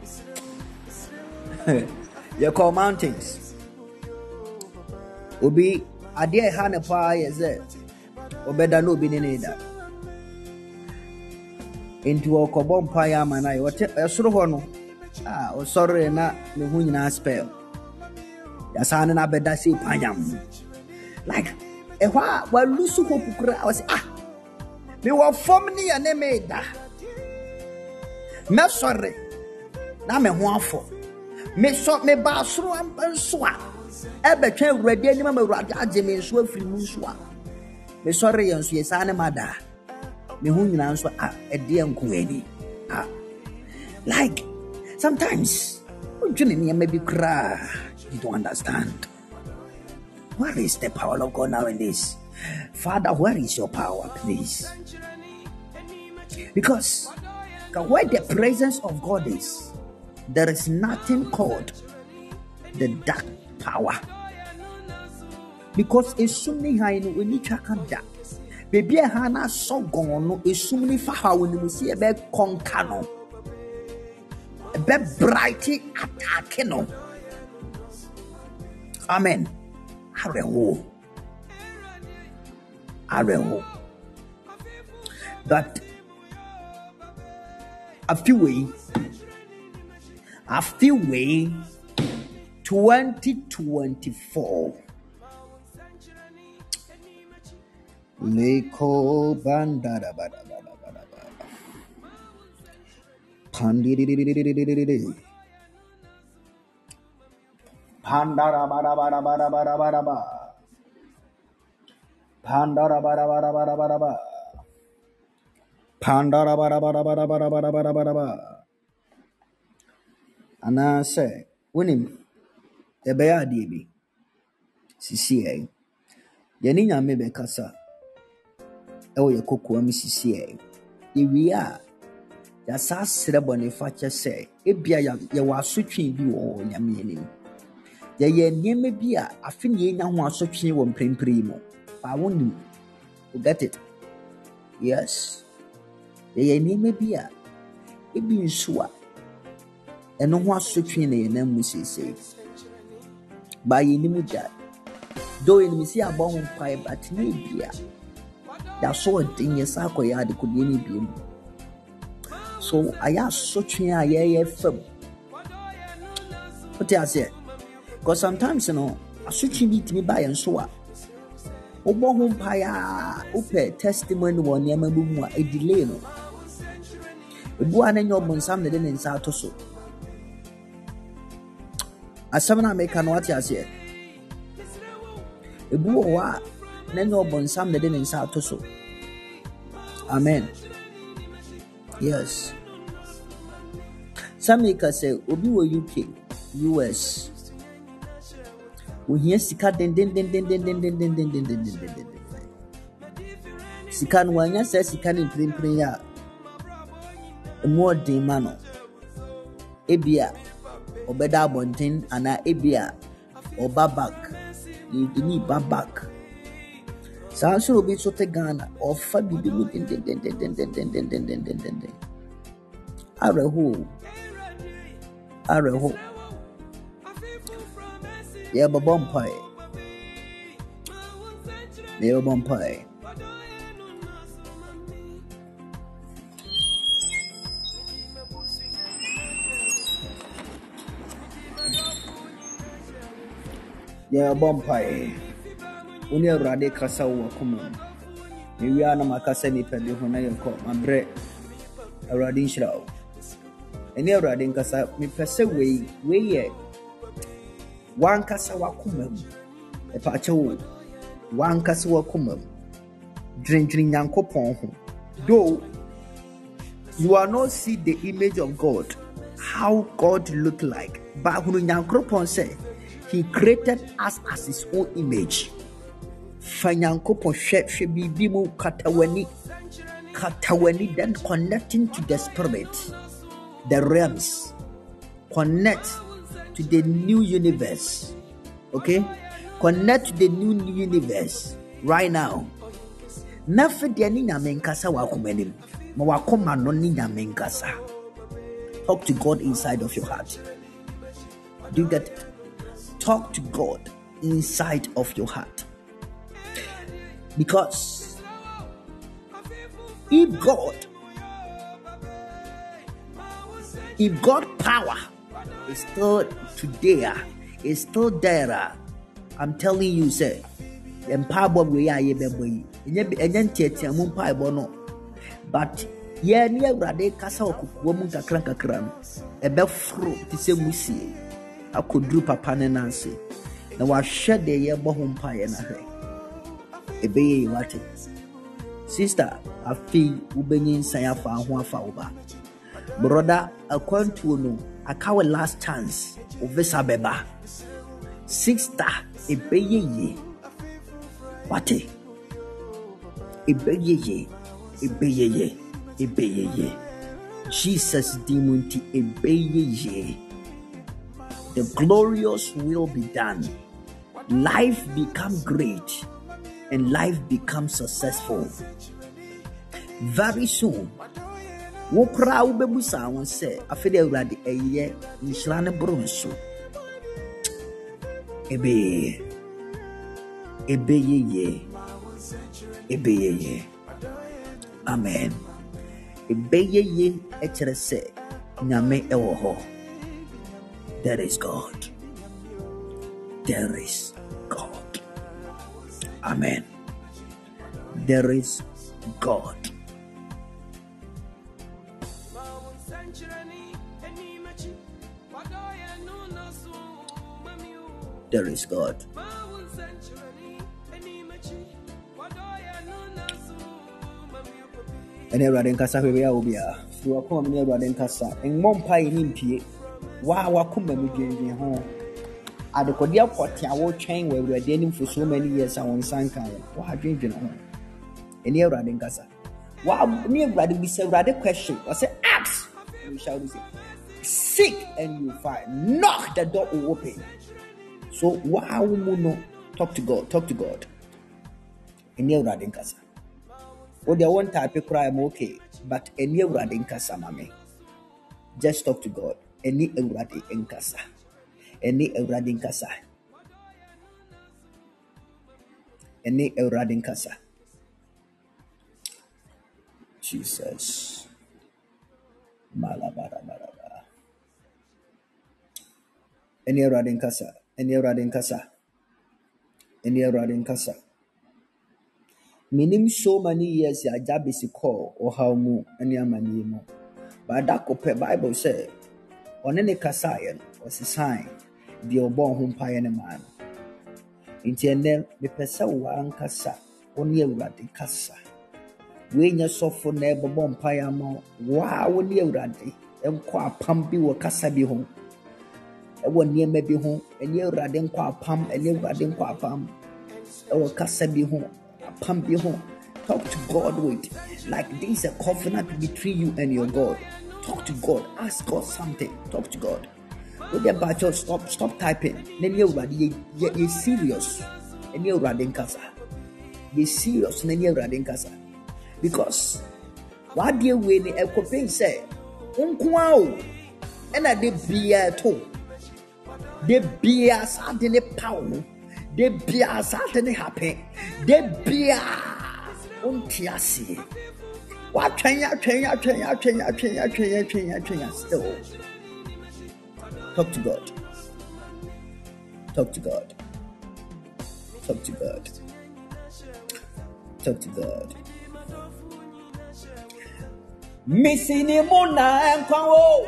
You call mountains Ubi Adia Hanepa Yeze Obeda no Binida into Okobom Paya Manai what a sort oh sorry na me hu nyina spell ya sana na beda say panyam like ehwa wa lusu hope kura I was me wa form ni ya ne me da me sorry na me ho afo me so me ba soro ampanso a e betwa awurade ani ma awurade age me so afiri mu so a me sorry yanso ye sana ma da me hu nyina so e de enko ani like sometimes maybe cry. You don't understand. Where is the power of God now in this? Father, where is your power, please? Because where the presence of God is, there is nothing called the dark power. Because it's something I know we need to come down. baby a hana so gone no esum ni fa ha woni musi e be konka no e be brighty attack no. Amen. Areho. That I feel way 2024 Leko bandara bada pandiri pandara bada pandara bada. And I say, winning the bear DB. CCA. Yanina maybe Cassa. Oh, your cocoa, Mrs. CCA. If we are, that's us, Cerebony Fatcher say, if you are switching you or Yamini. The yen may be a fin ye now one switching one primo. I won't do. You get it? Yes. The yen may be a it being sure. And no one switching a name we say. By any that. Though in me see a bomb pipe at maybe that's so a thing yes, I could be any. So I asked switching a year film. What I said? Because sometimes you know, a switching beat me by and so on. Obon paya upe testimony one yamabu a delay no. Buan and your bonsam the den in Satoso. As some American what I said. A boa, then your bonsam the den in Satoso. Amen. Yes. Some makers say, Obi were UK, US. We hear Sika den. Sikan Wanya says Sikan in prayer. A more demano. Ebia, Obeda Bontin, and Ebia, or Babak. You need Babak. Sanso will be so Ghana or Fabi. Areho. Yeah, but bumpy. Yeah, bumpy. Yeah, bumpy. When you're ready, Casa will come. Maybe I know my cousin if I do when I call my bread. A radin shroud. And you're ready, Casa, me press away, way. One Casa wakumum. A pacho. One Casa wakumum. Drinking Yanko Pon. Though you are not see the image of God, how God look like. But when Yankropon say, He created us as His own image. Fanyankopon she bibimu katawani, then connecting to the spirit, the realms, connect to the new universe. Okay, connect to the new universe right now. Nafediani na menkasa wakumenim, mawakoma noni na menkasa. Talk to God inside of your heart. Do you get it? Talk to God inside of your heart. Because if God power is still today, is still there, I'm telling you, say, empower we are ye beboy. But ye near Rade Casa woman kakran a befru to say musi. I could do Papa Nancy. Now I shed the year bohum pie and a hay. A bay what it. Sister, I feel Ubenin Sayafa and Fauba. Brother, I can't to know. I can't last chance of Vesabeba. Sister, a bay ye. What a bay ye. A bay ye. A bay ye. Jesus demonti a bay ye. The glorious will be done. Life become great. and life becomes successful. Very soon, wokra ubebusa won say afede awurade eye nhyira ne bronso ebe ye amen ebe ye ekere say nyame ewo ho. There is God. There is God. Amen. There is God. There is God. And everyone kasa we are obia. You are coming everyone kasa. En mompa inimpie. Wa wakuma me dwendwen ho. Adekodia kwate awo twen we awurade anim for so many years and one sankan. Wa dwendwen ho. Eni awurade kasa. Wa ni awurade bi say awurade question. I say ask. You shall receive. Seek and you find. Knock, the door will open. So wow, no, talk to God. Talk to God. Eni awurade kasa. O the one type of cry I'm okay, but eni awurade kasa mame. Just talk to God. Eni awurade kasa. Eni awurade kasa. Eni awurade kasa. Jesus. Malabara. Eni awurade kasa. Eni awurade kasa. Eni awurade kasa. Minim so many years ya jabisi call or how mu any amani mo. But that cope Bible say on any kasayan was a sign the obon hum payane man. Intended the pesa wan kasa only radi kasa. When you suffer never bon payamo, wow, when you radi, and qua pambi or kasa be home. And one year may be home, and you radin qua pam, and you radin qua pam, or kasa be home. Pump your home. Talk to God with like this is a covenant between you and your God. Talk to God. Ask God something. Talk to God. With the battle, stop typing. Then you're serious. And you're running casa. You're serious. Then you're running casa. Because what do you win a coping say? Unquao. And I did beer too. The beer suddenly power. De bia certainly happy. De bia untiasi. What trenya still. Talk to God. Talk to God. Talk to God. Talk to God. Missing mona and quao.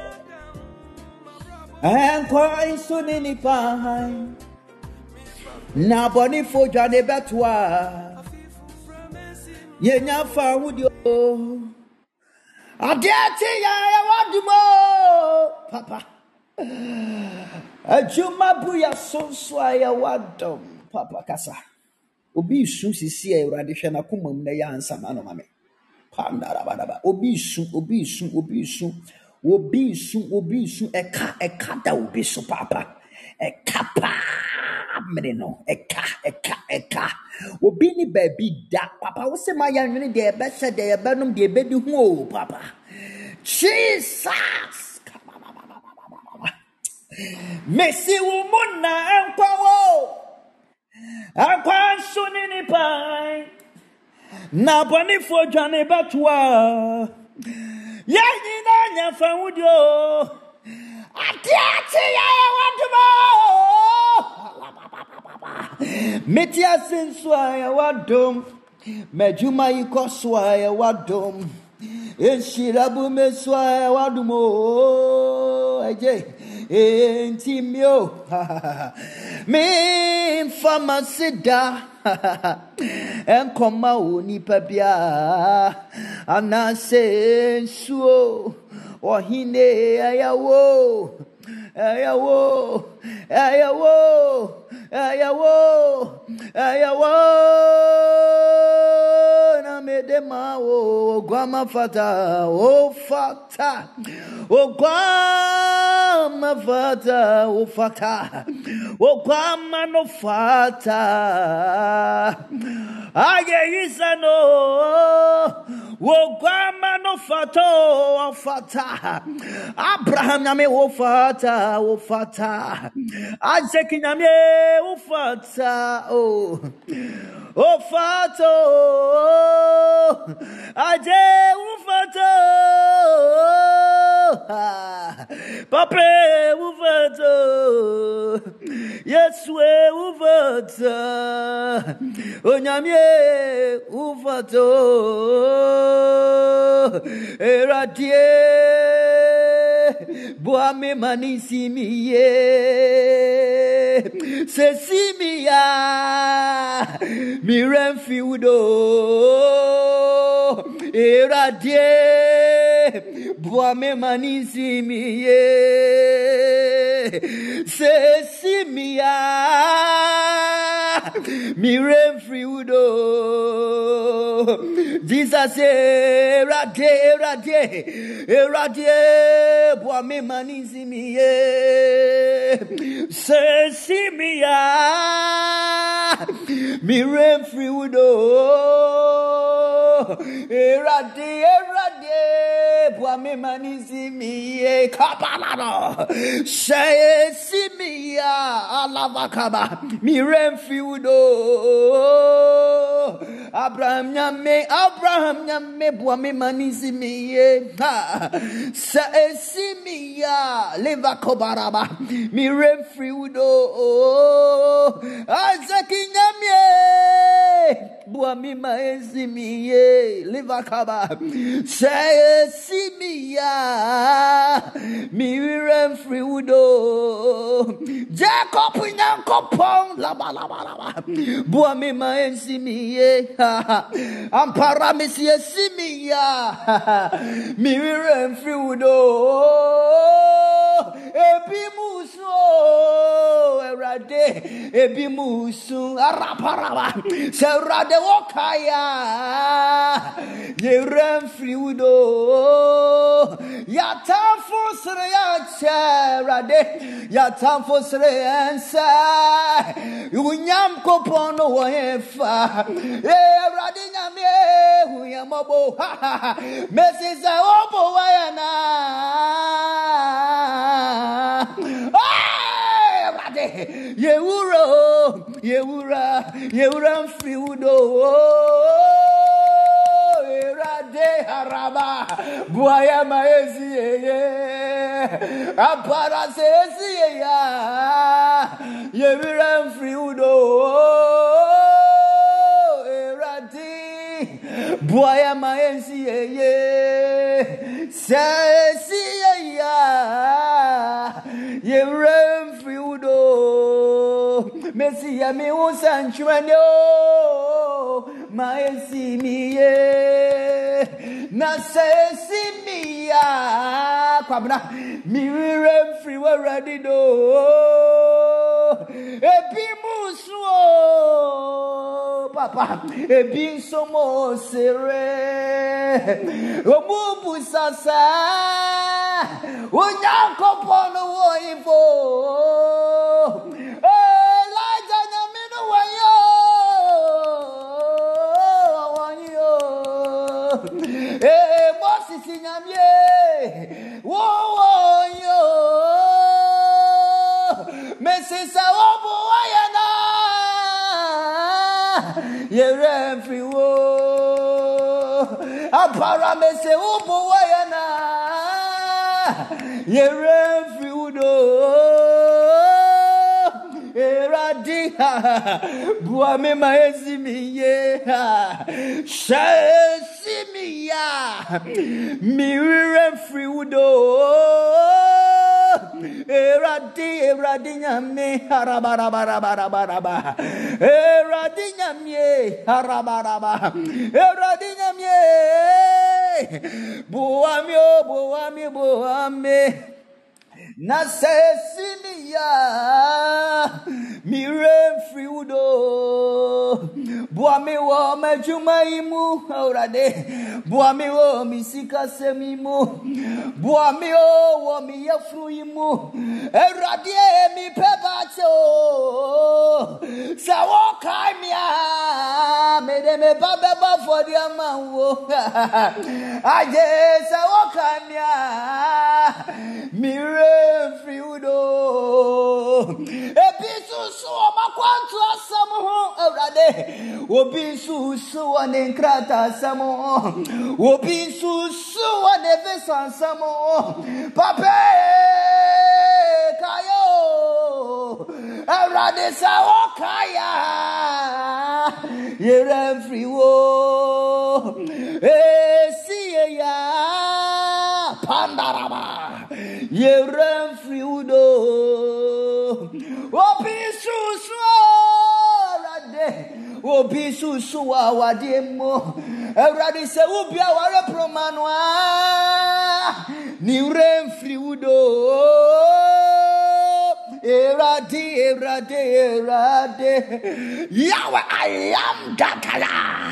And quite soon in the pine. Na boni fo jade betwa ye nya fa wudio adiati ya wadumo papa ajuma buya sonso ya wadom papa kasa obi su sisi e urade hwe na komam na ya ansa ma no mame pandara badaba obi su eka da obi su papa ekapa meneno eka obini baby da papa wo se ma ya nwene de be se de be num de be di hu o papa Jesus Messi wo mona ankwawo ankwan sunini pai na boni fo dwane batwa ya nyina nya fa wudio atiati ya wadumo Metia senswa ya wadom Mejuma yikoswa ya wadom Enshirabu meswa ya wadumo Eje Entimyo Me famasida Enkoma unipa bia Anasensuo Ohine ayawo na medema o guama fata o fata o guama Okwama fata, o fata. Okwama no fata. Aye isano. Okwama no fata, o fata. Abraham nyame o fata, o fata. Isaac nyame o fata, o. O fato, aje ufato, pape ufato, Yeswe ufato, onyamye ufato, eradie, boame manisi miye, sesimia. Mirenfiudo eradie boame manisi miye sesimia mirenfiudo Jesus eradie boame manisi miye sesimia Mirenfriudo Erade Boame manisi miye kapalano Shaye simia alavakaba Mirenfriudo Abraham nyame boame manisi miye Shaye simia levakobaraba Mirenfriudo Isaac nyamye boami maezimiye livakaba say simia mirenfriudo Jacob nyankopon laba boami maezimiye ampara mesie simia mirenfriudo ebimuso erade ebimusu araparaba serade wokaya yeremfriudo yatamfo sere ya cherade yatamfo sere ansa unyam kopono wo efa erade nyame uyamobo mesiza obo wayana Yewura mfiudo erade haraba buaya maezi ye apara sezi ya yewura mfiudo erade buaya maezi ye sezi ya yewura mfiudo Messi ya mi usanchwano maesi miye na sesi miya kwabna mi remfri we ready do ebi musuo papa ebi somo sere omubu sasa onyankopon wo ifo Moses nyamye wo yo mesisa obo ayana yeremfri wo apara mese obo ayana yeremfri udo eradiha buame maezimiye shasimia miremfri udo eradi nyame harabarabarabaraba eradi nyame harabaraba eradi nyame buame na sesinia mi refri udo buami wo majuma imu awrade buami wo mi sika semimu buami wo mi yafru imu awrade mi pebacho sawo kamia me de me baba for the amawo aje sawo kamia mi refri udo ebisusu makwantu asamo awrade obisusu wane nkrata asamo obisusu wane vesa asamo pape kayo awrade sawo kaya ye refri wo siye ya pandaraba ye refri udo obisusu rade obisusu awademo erade se ubia ware promanwa ni refri udo erade Yahweh I am that I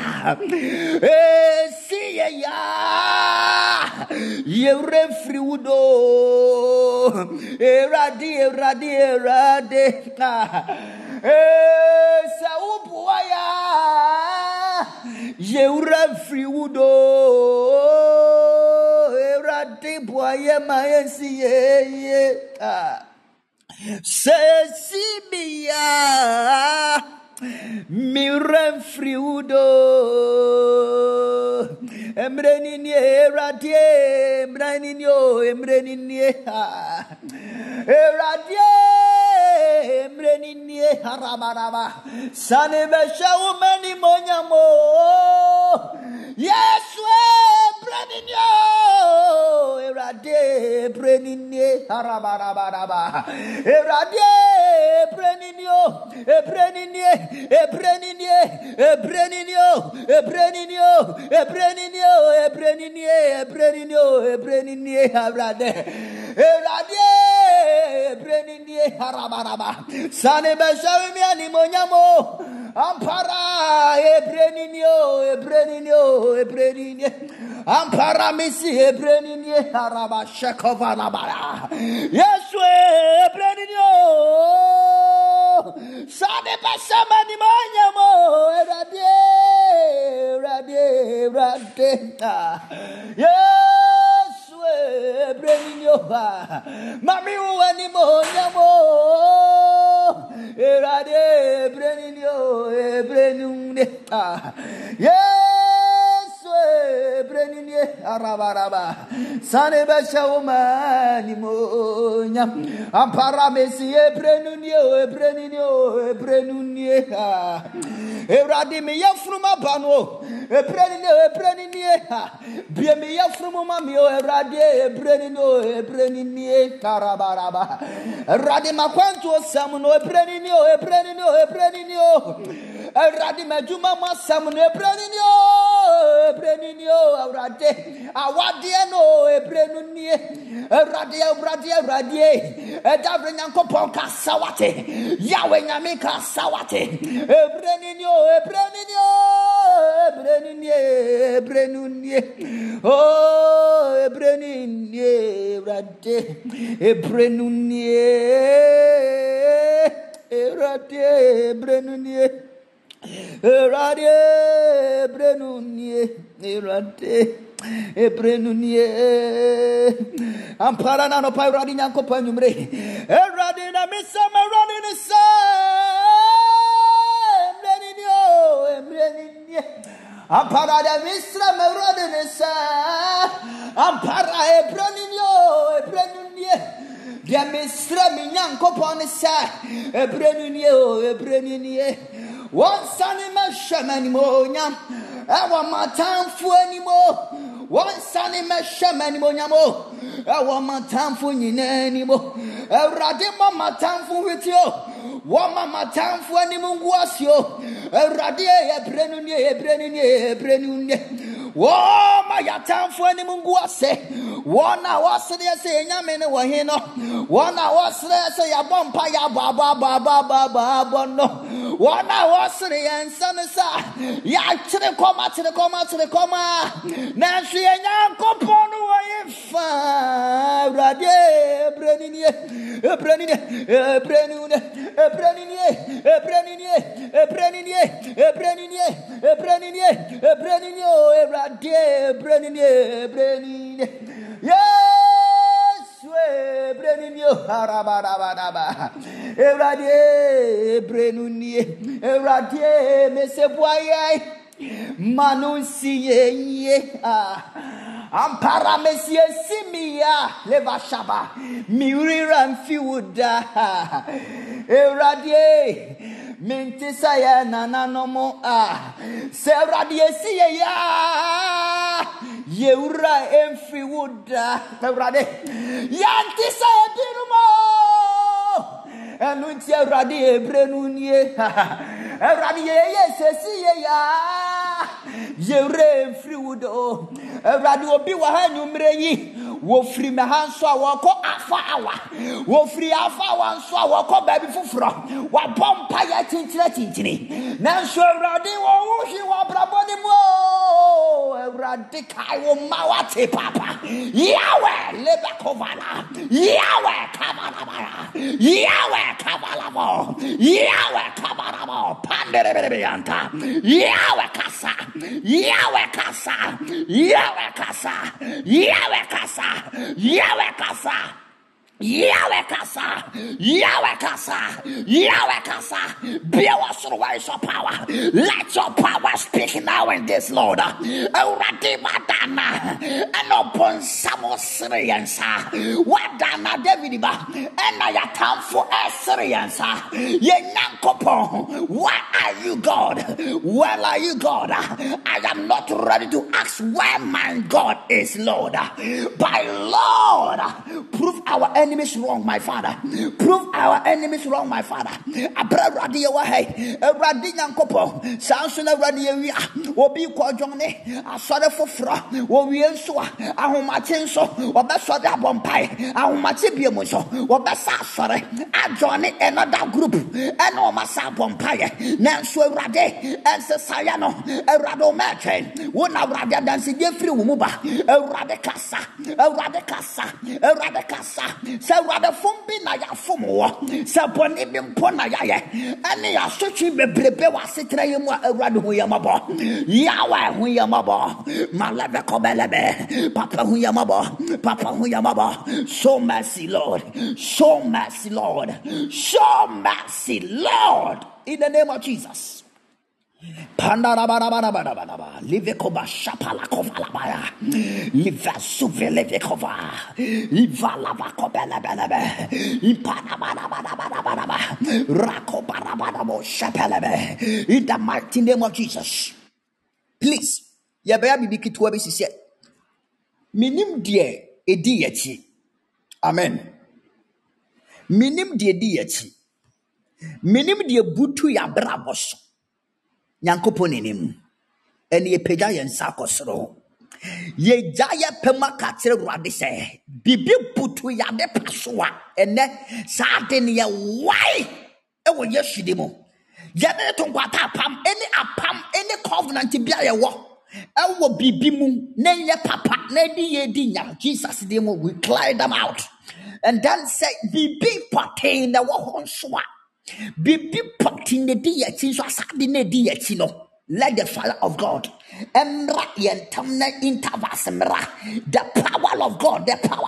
am see ya ye refri udo erade Saubuaya ye refri udo erade boye mayensi ye Sesibia mi refri udo emrenini radie emrenini radie emrenini harabaraba sane besha umani monyamo Yesu emrenini radie emrenini harabaraba radie Sane beshawi mi animonyamo ampara ebreninio ampara misi ebreninio araba shekova nabara Yesu ebreninio Sane beshawi animonyamo radie Yesu ebreninio mami animonyamo Erade ebrenunde Yesu ebrenunie arabaraba sane besha umani monya ampara mesi ebrenunie Erade me yafruma bano ebrenunie bie me yafruma mami erade ebrenunie karabaraba erade makwantu samuno ebrenunie erade majuma masamuno ebrenunie erade awade no ebrenunie erade edabre nyankopon kasawate yawe nyame kasawate ebrenunie oh ebrenunie erade ebrenunie ampara na no pa erade nyankopon nyumre erade na misama erade ne sa ebrenunie ampara da misra erade ne sa ampara ebrenunie dia misra minyankopon sa ebrenunie wansane mashemani monyam ewa matamfu animo wansane mashemani monyamo ewa matamfu nyinanimo erade matamfu witio wama matamfu animo nguasio erade ebrenunie Whoa, my yatam for any mungu say. 1 hour say Yamene Wahino. 1 hour say Yabompa Baba no. 1 hour say and Sanasa. Ya to the coma. Nancy and Yanko Pono if Radie Yes, Breninio, Harabadabadaba, Eradie, Brenunie, Eradie, Messepoye, Manusie, Ampara Messie Simia, Levashaba, Miriram Fiuda, Eradie. Mintisaya nananomo Seradie siya Yeura emfi wuda Erade Yantisaya dinumo Enuntia radie brenunie Eradie yesesiya Yeura emfi wudo Erade obi wa hanyumreyi wo free me hanso a wo ko afa wo free afa wanso a wo ko baby fufuro wa bompa ya tinchini nanso Awurade wo wuhi wo braboni mo Awurade kai wo mawate papa Yahweh lebekovala Yahweh kabalamo Yahweh kabalamo panderebeanta Yahweh kasa Be our source of power. Let your power speak now in this, Lord. Already, Madana, and upon some Syrians. Wadana, David, and I attend for Syrians. Yenankopo, where are you, God? Where are you, God? I am not ready to ask where my God is, Lord. By Lord, prove our enemies wrong, my Father. Prove our enemies wrong, my Father. Abra radio wahe, radio nkopo. Samson radio wi. Obi kwa jone. Asore foforo. Wo wi enso a. Ahomache nso. Obeso da bompai. Ahomache biemu nso. Obesa asore. Ajone another group. Eno masa bompai. Nanso awrade. Ense sayano. Awrado meche. Wona awrade dansi die free wo mu ba. Awrade kasa. Say what the fumbi na ya fumo. Say boni bimpo na ya ye. Ani ya sochi bebrebe wa setra yemu awrade hu yamabo. Yawa hu yamabo. Malave kobelebe. Papa hu yamabo. Show mercy, Lord. Show mercy, Lord. Show mercy, Lord. In the name of Jesus. Pandarabarabarabarabara. Livekova shapala kovalabaya. Liva suvelevekova. Iva lava kobelebelebe. Ipanabarabarabarabaraba. Rakobarabarabo shapelebe. In the mighty name of Jesus. Please. Yabaya bibiki tuwabi sise. Minim die edi yechi. Amen. Minim die edi yechi. Minim die butu ya brabos. Nyankoponinim ene ye pega ye nsa kosoro ye jaya pema katere Awurade se bibi butu ya de pasoa ene saade ne ye wai e wo Yesu mo ye de to kwata apam any covenant bia ye wo e wo bibi mu na ye papa na di ye di nya Jesus de mo we clear them out and then say bibi patin na wo honsoa Bibi potin ne di yachi so asade ne di yachi no. Let the fire of God emra yentamna intervasemra the power of God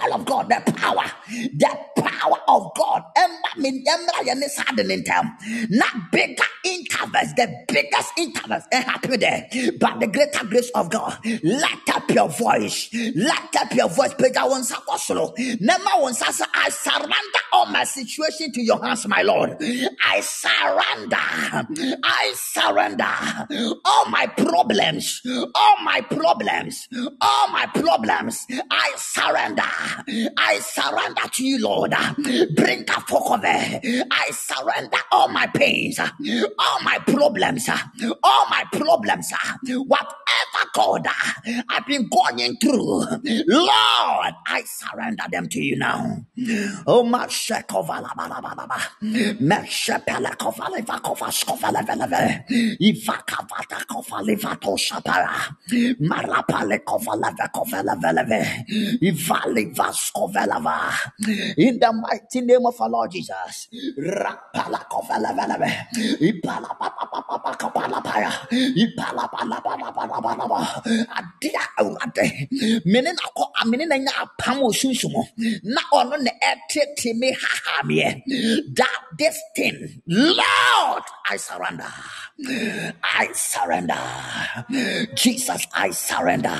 emra yene sade intem not bigger intervals the biggest intervals happen there but the greater grace of God. Light up your voice pega won sakosolo nema won sasa. I surrender all my situation to your hands, my Lord. I surrender all my problems. I surrender to you, Lord. God, bring a focus. I surrender all my pains, all my problems, whatever, God, I've been going through. Lord, I surrender them to you now. Oh, my shekovalabalabalaba. Meshepelekovalevakovaskovaleve. Ivakavatakovalivatosapara. Marapalekovalevekoveleve. Ivalivaskovelava. In the mighty name of our Lord Jesus. Rapalakoveleve. Ipalapapapapakapalapaya. Ipalapalapalapalapalapa. Adia awurade. Menena ko amenena nya apam osunsumo. Na ono ne etete me hahamie. That this thing, Lord, I surrender. I surrender. Jesus, I surrender.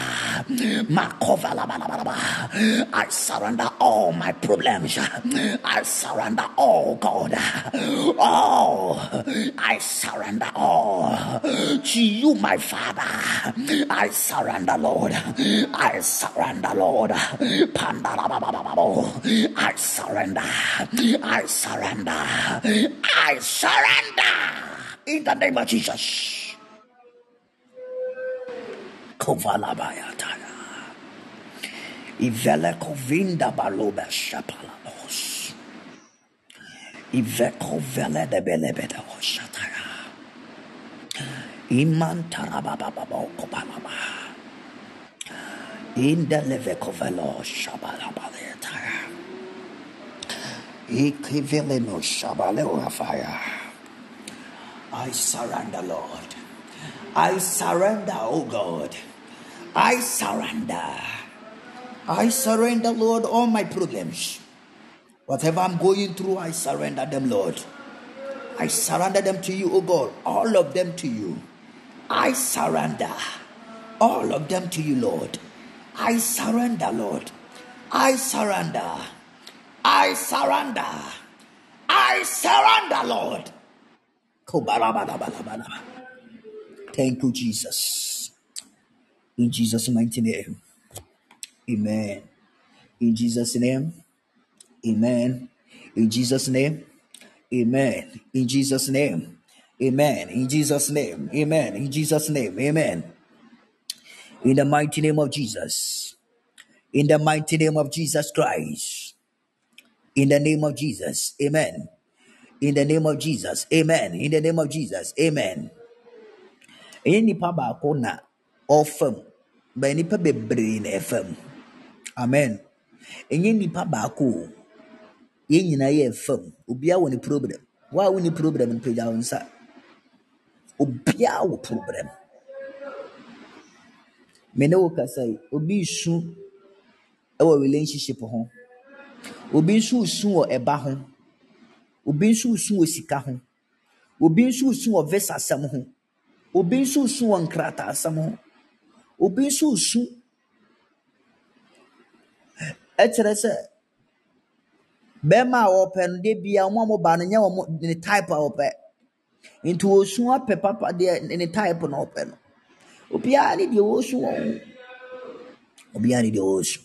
I surrender all my problems. I surrender all, God. Oh, I surrender all to you, my Father. I surrender, Lord. I surrender, Lord. I surrender. I surrender. I surrender. In the name of Jesus. Kovalabayataya. Ivele kovinda balobe shapalamos. Iveko vele de belebede oshataya. Iman tarabababo kopalaba. In the leveko velo shabalabaletaya. Ikivele no shabaleo fire. I surrender, Lord. I surrender, oh God. I surrender. I surrender, Lord, all my problems. Whatever I'm going through, I surrender them, Lord. I surrender them to you, oh God. All of them to you. I surrender. All of them to you, Lord. I surrender, Lord. I surrender. I surrender. I surrender, Lord. Thank you, Jesus. In Jesus' mighty name. Amen. In Jesus' name. Amen. In Jesus' name. Amen. In Jesus' name. Amen. In Jesus' name. Amen. In Jesus' name. Amen. In the mighty name of Jesus. In the mighty name of Jesus Christ. In the name of Jesus. Amen. In the name of Jesus. Amen. In the name of Jesus. Amen. Any paba kona ofem. Ba nipa bebre na efem. Amen. Any nipa baako. Ye nyina ye efem. Obia wo ni problem. Wa wo ni problem npeja wonsa. Obia wo problem. Mene wo kasai obi su ewo relationship ho. Obi su wo eba ho. Obi su wo sika ho. Obi su wo visa sam ho. Obi su wo nkrata sam ho. Obi su etrese bema open de bia mo ba no nya wo ni type open into osu ape papa de ni type no open no. Obi ani de osu wo. Obi ani de osu.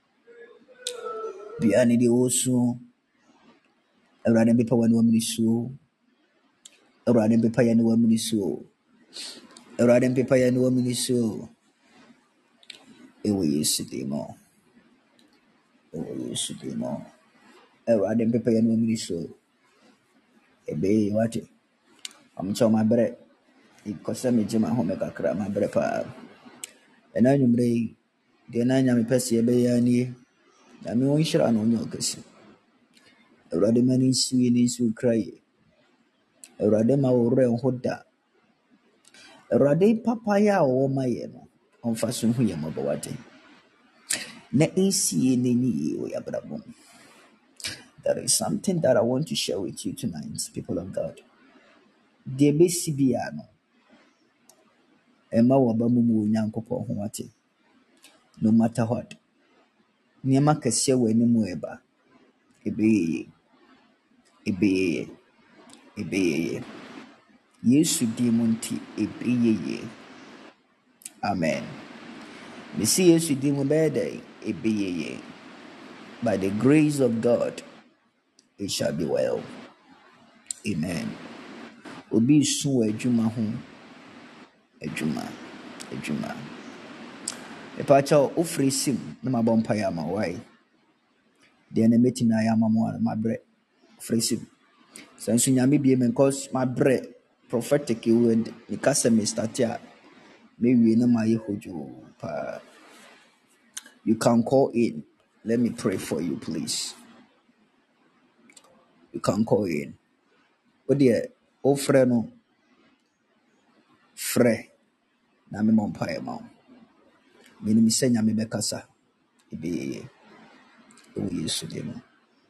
Obi ani de osu. Awurade mpepa wani wa miniso. Awurade mpepa yani wa miniso. Awurade mpepa yani wa miniso. Ewe Yesu demo. Ewe Yesu demo. Awurade mpepa yani wa miniso. Ebe wate. Amcho my bread. Ikosa me jema ho me kakra my bread pa. Ena nyumre de na nya me pese ebe yani. Na me won hira no nyo kesi. Awurade mani suye ni su cry. Awurade ma wo re hoda. Awurade papa ya wo maye no. Onfa so hu ye mabawate. Na insiye ni ni o ya brabom. There is something that I want to share with you tonight, people of God. De besibia no. Ema wabamu mu nyankopon ho wate. No matter what. Niema kese we ni mu eba. Ebeye. Yesu dimunti ebeye. Amen. Mesi Yesu dimu bede ebeye. By the grace of God, it shall be well. Amen. Obi su adwuma ho adwuma. Epacha ofre sim na mabompa ya ma why. De na metimi ayama mo ma bre ofre sim. Sanso nyame bie men cause my bre prophetic word ni kasa me start ya me wie na ma yehojo pa. You can call in. Let me pray for you, please. You can call in. Oh dear, oh friend, no. Fre. Na me mompae ma. Me ni misenya me bekasa. Ibe o Yesu de mo.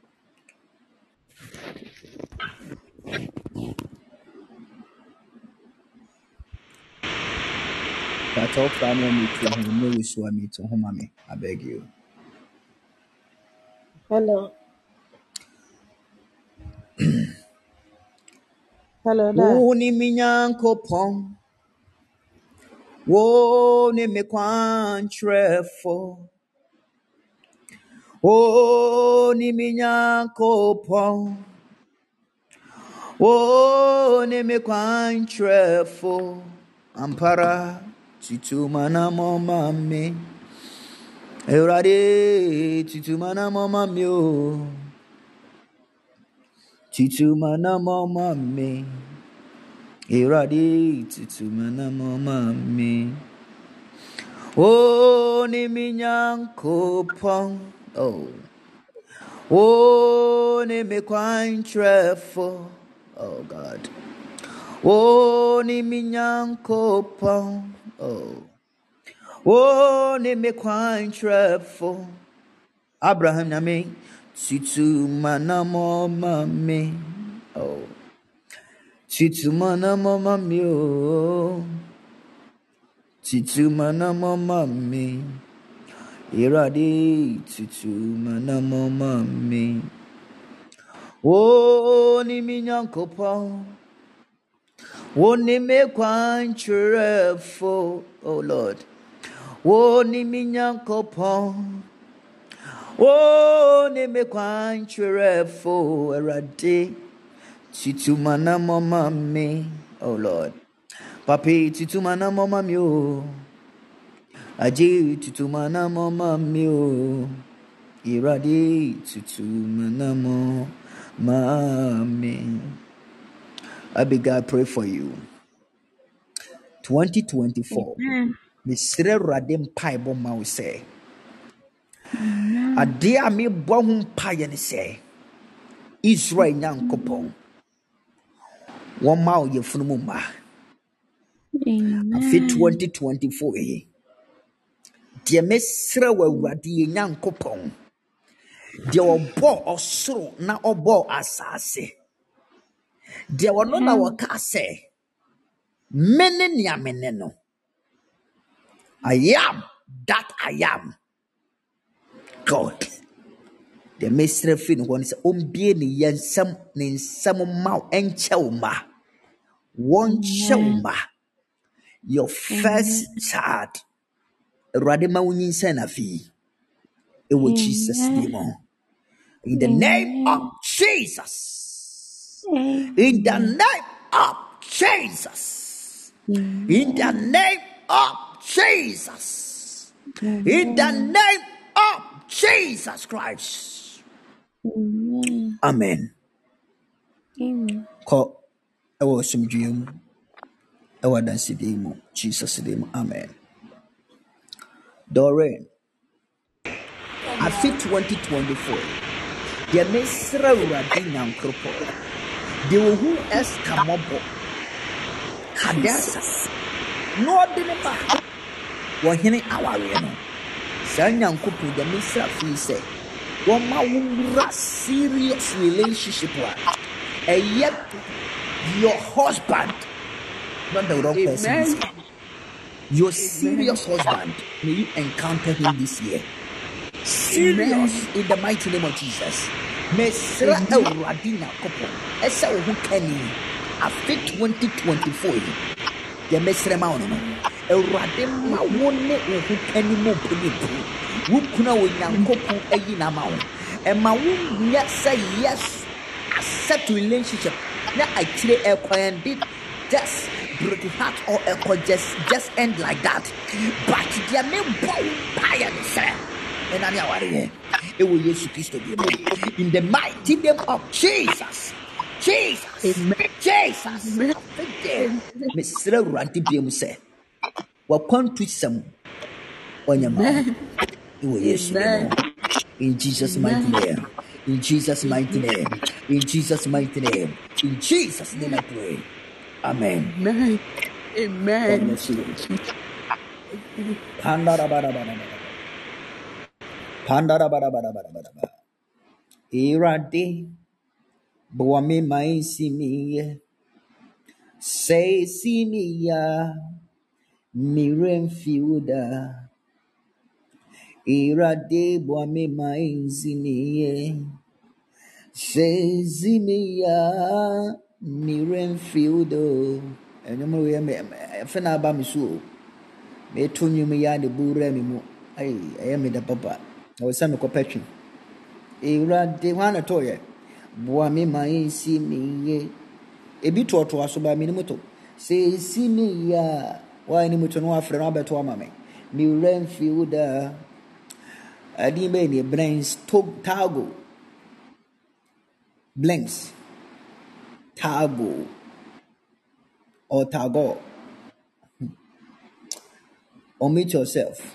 But all family me to him no wish me to home me. I beg you. Hello. Hello there. Wo ni mi nyankopon. Wo ni mi kwantrefo. Wo ni mi nyankopon. Wo ni mi kwantrefo. Ampara titumana mama me. Eurade titumana mama me o. Titumana mama me. Eurade titumana mama me. Oh ni mi nyankopon. Oh ni mi kwantrefo. Oh God. Oh ni mi nyankopon. Oh ni mi kwantrefo. Abraham nyame titumana mama me. Titumana mama me o. Titumana mama me. Irade titumana mama me. Oh ni mi nyankopon. Oh ni mi kwantrefo. Oh Lord. Oh ni mi nyankopon. Oh ni mi kwantrefo. Irade titumana mama me. Oh Lord. Papi titumana mama me o. Aje titumana mama me o. Irade titumana mama me. Abigail, pray for you. 2024. Misre radem pai bo ma wo say. Ade a me bo ho pai ne say. Israel nyankopon. Wo ma wo yefunu mu ma. Afi 2024 eh. Die mesre wa awurade nyankopon. Die obo osoro na obo asase. Die wono na waka say. Mene ni amene no. I am that I am. God. The mesre fin won say ombie ni yensam ni nsam ma enchewma. Won chewma. Your first child. Radema unyinsa na fi. It was Jesus name. In the name of Jesus. In the name of Jesus. In the name of Jesus. In the name of Jesus Christ. Amen. Ko ewo sumdwem ewo dansidemu Jesus name. Amen. Doreen. I fit 2024. The mesra uradi nyankropo. The who else kamobo. Kadasas. No dinema. Wahine aware no. Sa nyankropo the mesra fi say. Woma wura serious relationship wa. And yet your husband, not the wrong person. Your serious husband, may you encounter him this year. Serious in the mighty name of Jesus. Mesra Euradina couple. Esa who can after 2024. The Mesra Mauno. Euradema wone who can mo punipu. Who kuna win couple a yin amount. And my womb yet say yes accept relationship. Now I clear a coin did just break heart or a coin just end like that. But there may be fire, sir. And I'm here. It will use Christ to be in the mighty name of Jesus. Jesus. Jesus. Mr. Ranti Bium said, "What country some on your mouth? It will use in Jesus' mighty name. In Jesus' mighty name. In Jesus' mighty name. In Jesus' name I pray. Amen. Amen. God bless you. Pandara. Irade. Boame mai simi. Say simi ya. Miren fiuda. Irade boame mai simi. Say simi ya. Miren fiudo. And you know, fena ba mi so. Me tunyu mi ya de bure mi mu. Ay me da papa. I was some compassion. Irade wana toye. Boa me mai si mi ye. Ebi to aso ba mi ni moto. Se si mi ya. Wa ni moto no afre no abeto ama me. Mi ren fiuda. Adi be ni brains tago. Blanks. Tago. Or tago. Omit yourself.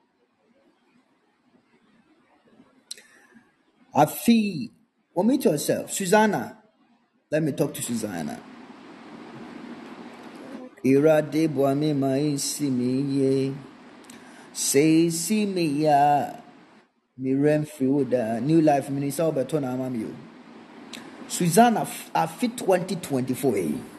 Afi. Omit yourself. Susanna. Let me talk to Susanna. Irade boame mai si mi ye. Say si mi ya. Mi rem friuda. New Life Minister Albertona Amamio. Susanna Afi 2024.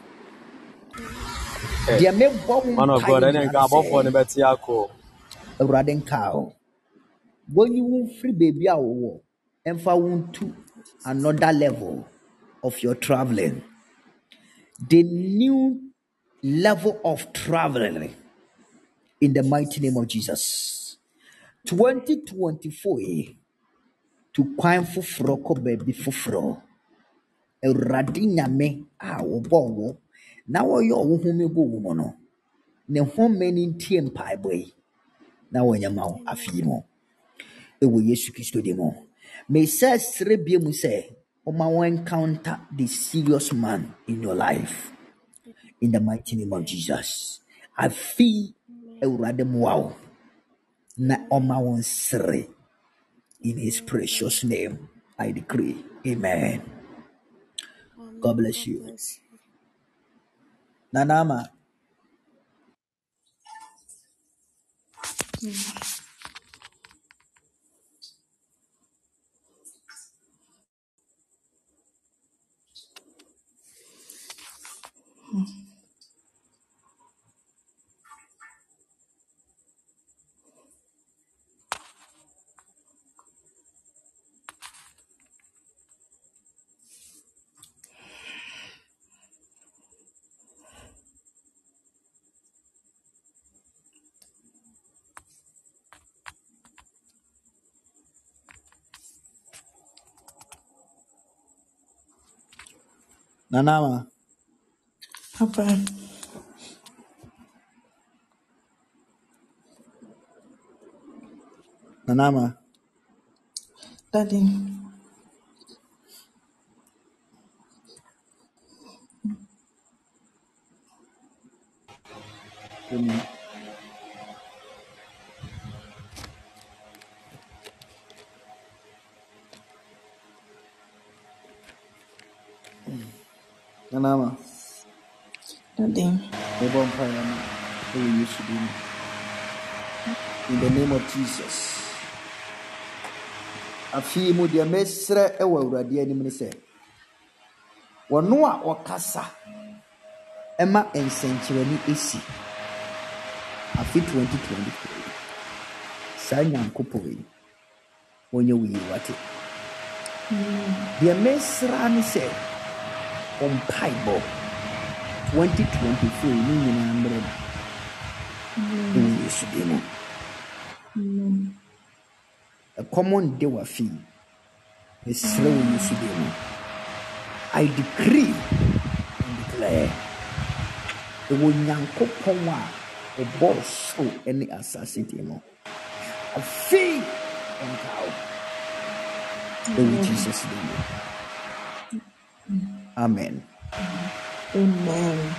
Dear me Man of God, I didn't go for the Betiako. Raden cow. When you won't free baby our and found to another level of your traveling. The new level of traveling in the mighty name of Jesus. 2024 to kwine fufro ko baby fufro. Radina me wo na wo yo wo home go wo no. Ne home ni ntie mpai boy. Na wo nyama wo afi mo. Ewo Yesu Kristo de mo. May say srebie mu say o ma wo encounter the serious man in your life. In the mighty name of Jesus. I feel Eurade wow. Na oma won sre. In his precious name, I decree. Amen. God bless you. Nanama. Nanama. Papa. Nanama. Daddy. Nanama. Daddy. In the name of Jesus. Afi mu de mesre ewa urade anim ne se. Wono a okasa ema ensenkyerani esi. Afi 2023. Sanya nkopoi. Onye wi wate. De mesra ne se on Bible 2024 ni nyina mbre. Yesu demo. A common day wa fi. Esre wo Yesu demo. I decree and declare. Ewo Nyankopɔn a ɔbɔ soro ne asase ti mu. Afei ɔnkaw. In Jesus' name. Amen. Amen.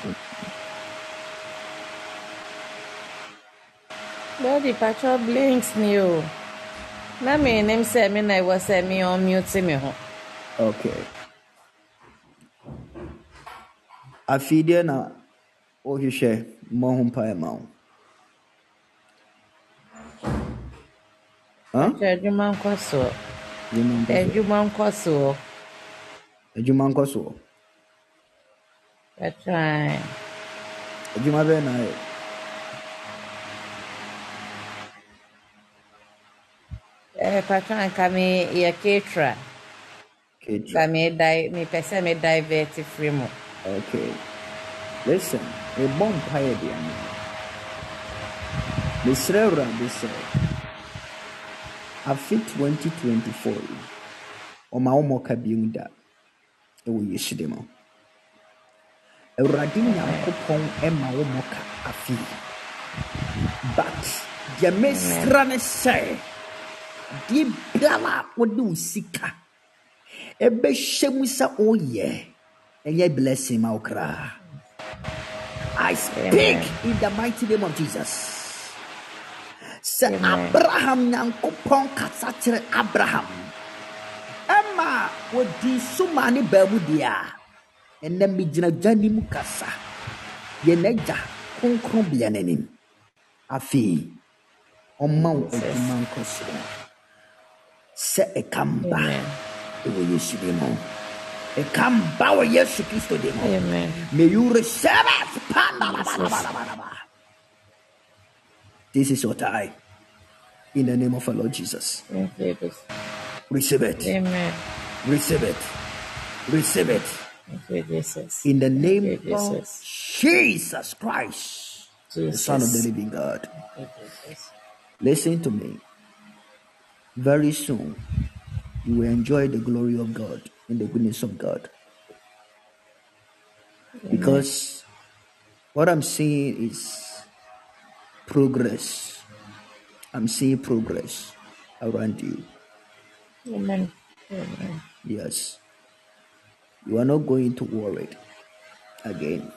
Daddy, Patrol blinks me. Na me name say me na was say me on mute me ho. Okay. Afidie na ohwehwɛ mo ho mpae ma wo. Huh? Adwuma nkɔ so. Adwuma nkɔ so. That's right. Adwuma bɛ na ayɛ. Patrol kami ye caterer. Kami me pese me divert free mo. Okay. Listen, a bomb pie de ame. Mesrɛ Awurade sɛ afi 2024 ɔma wo mmɔka biom da ɛwɔ Yesu de mu. Awurade Nyankopɔn ɛma wo mmɔka afi. But deɛ mesrɛ ne sɛ deɛ biara wode wo sika ɛbɛhyɛ mu sɛ woyɛ ɛyɛ blessing ma wo kraa. I speak in the mighty name of Jesus. Say Abraham Nyankopɔn kasa kyerɛ Abraham. Emma wodi sumani bamudia. Ene mi gyina gyani mu kasa. Ye n'agya kronkron bia n'anim. Afei ɔma wo adwuma nkɔ so. Sɛ ɛkamba ɛwɔ Yesu din mu. Ɛkamba wɔ Yesu Kristo din mu. Amen. May you receive it. This is your time. In the name of our Lord Jesus. Receive it. Amen. Receive it. Receive it. Jesus. In the name of Jesus Christ, the Son of the living God. Listen to me. Very soon, you will enjoy the glory of God and the goodness of God. Because what I'm seeing is progress. I'm seeing progress around you. Amen. Amen. Yes. You are not going to worry again.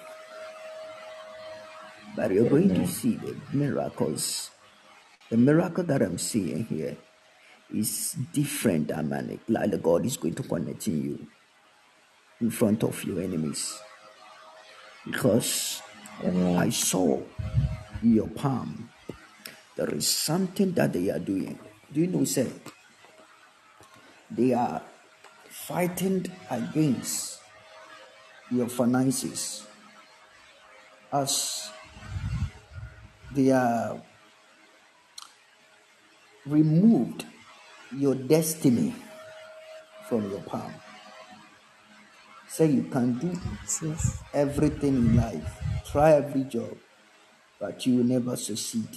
But you're going to see the miracles. The miracle that I'm seeing here is different than manic. Like God is going to connect you in front of your enemies. Because I saw in your palm, there is something that they are doing. Do you know, say, they are fighting against your finances as they are removed your destiny from your palm. Say you can do everything in life, try every job, but you will never succeed.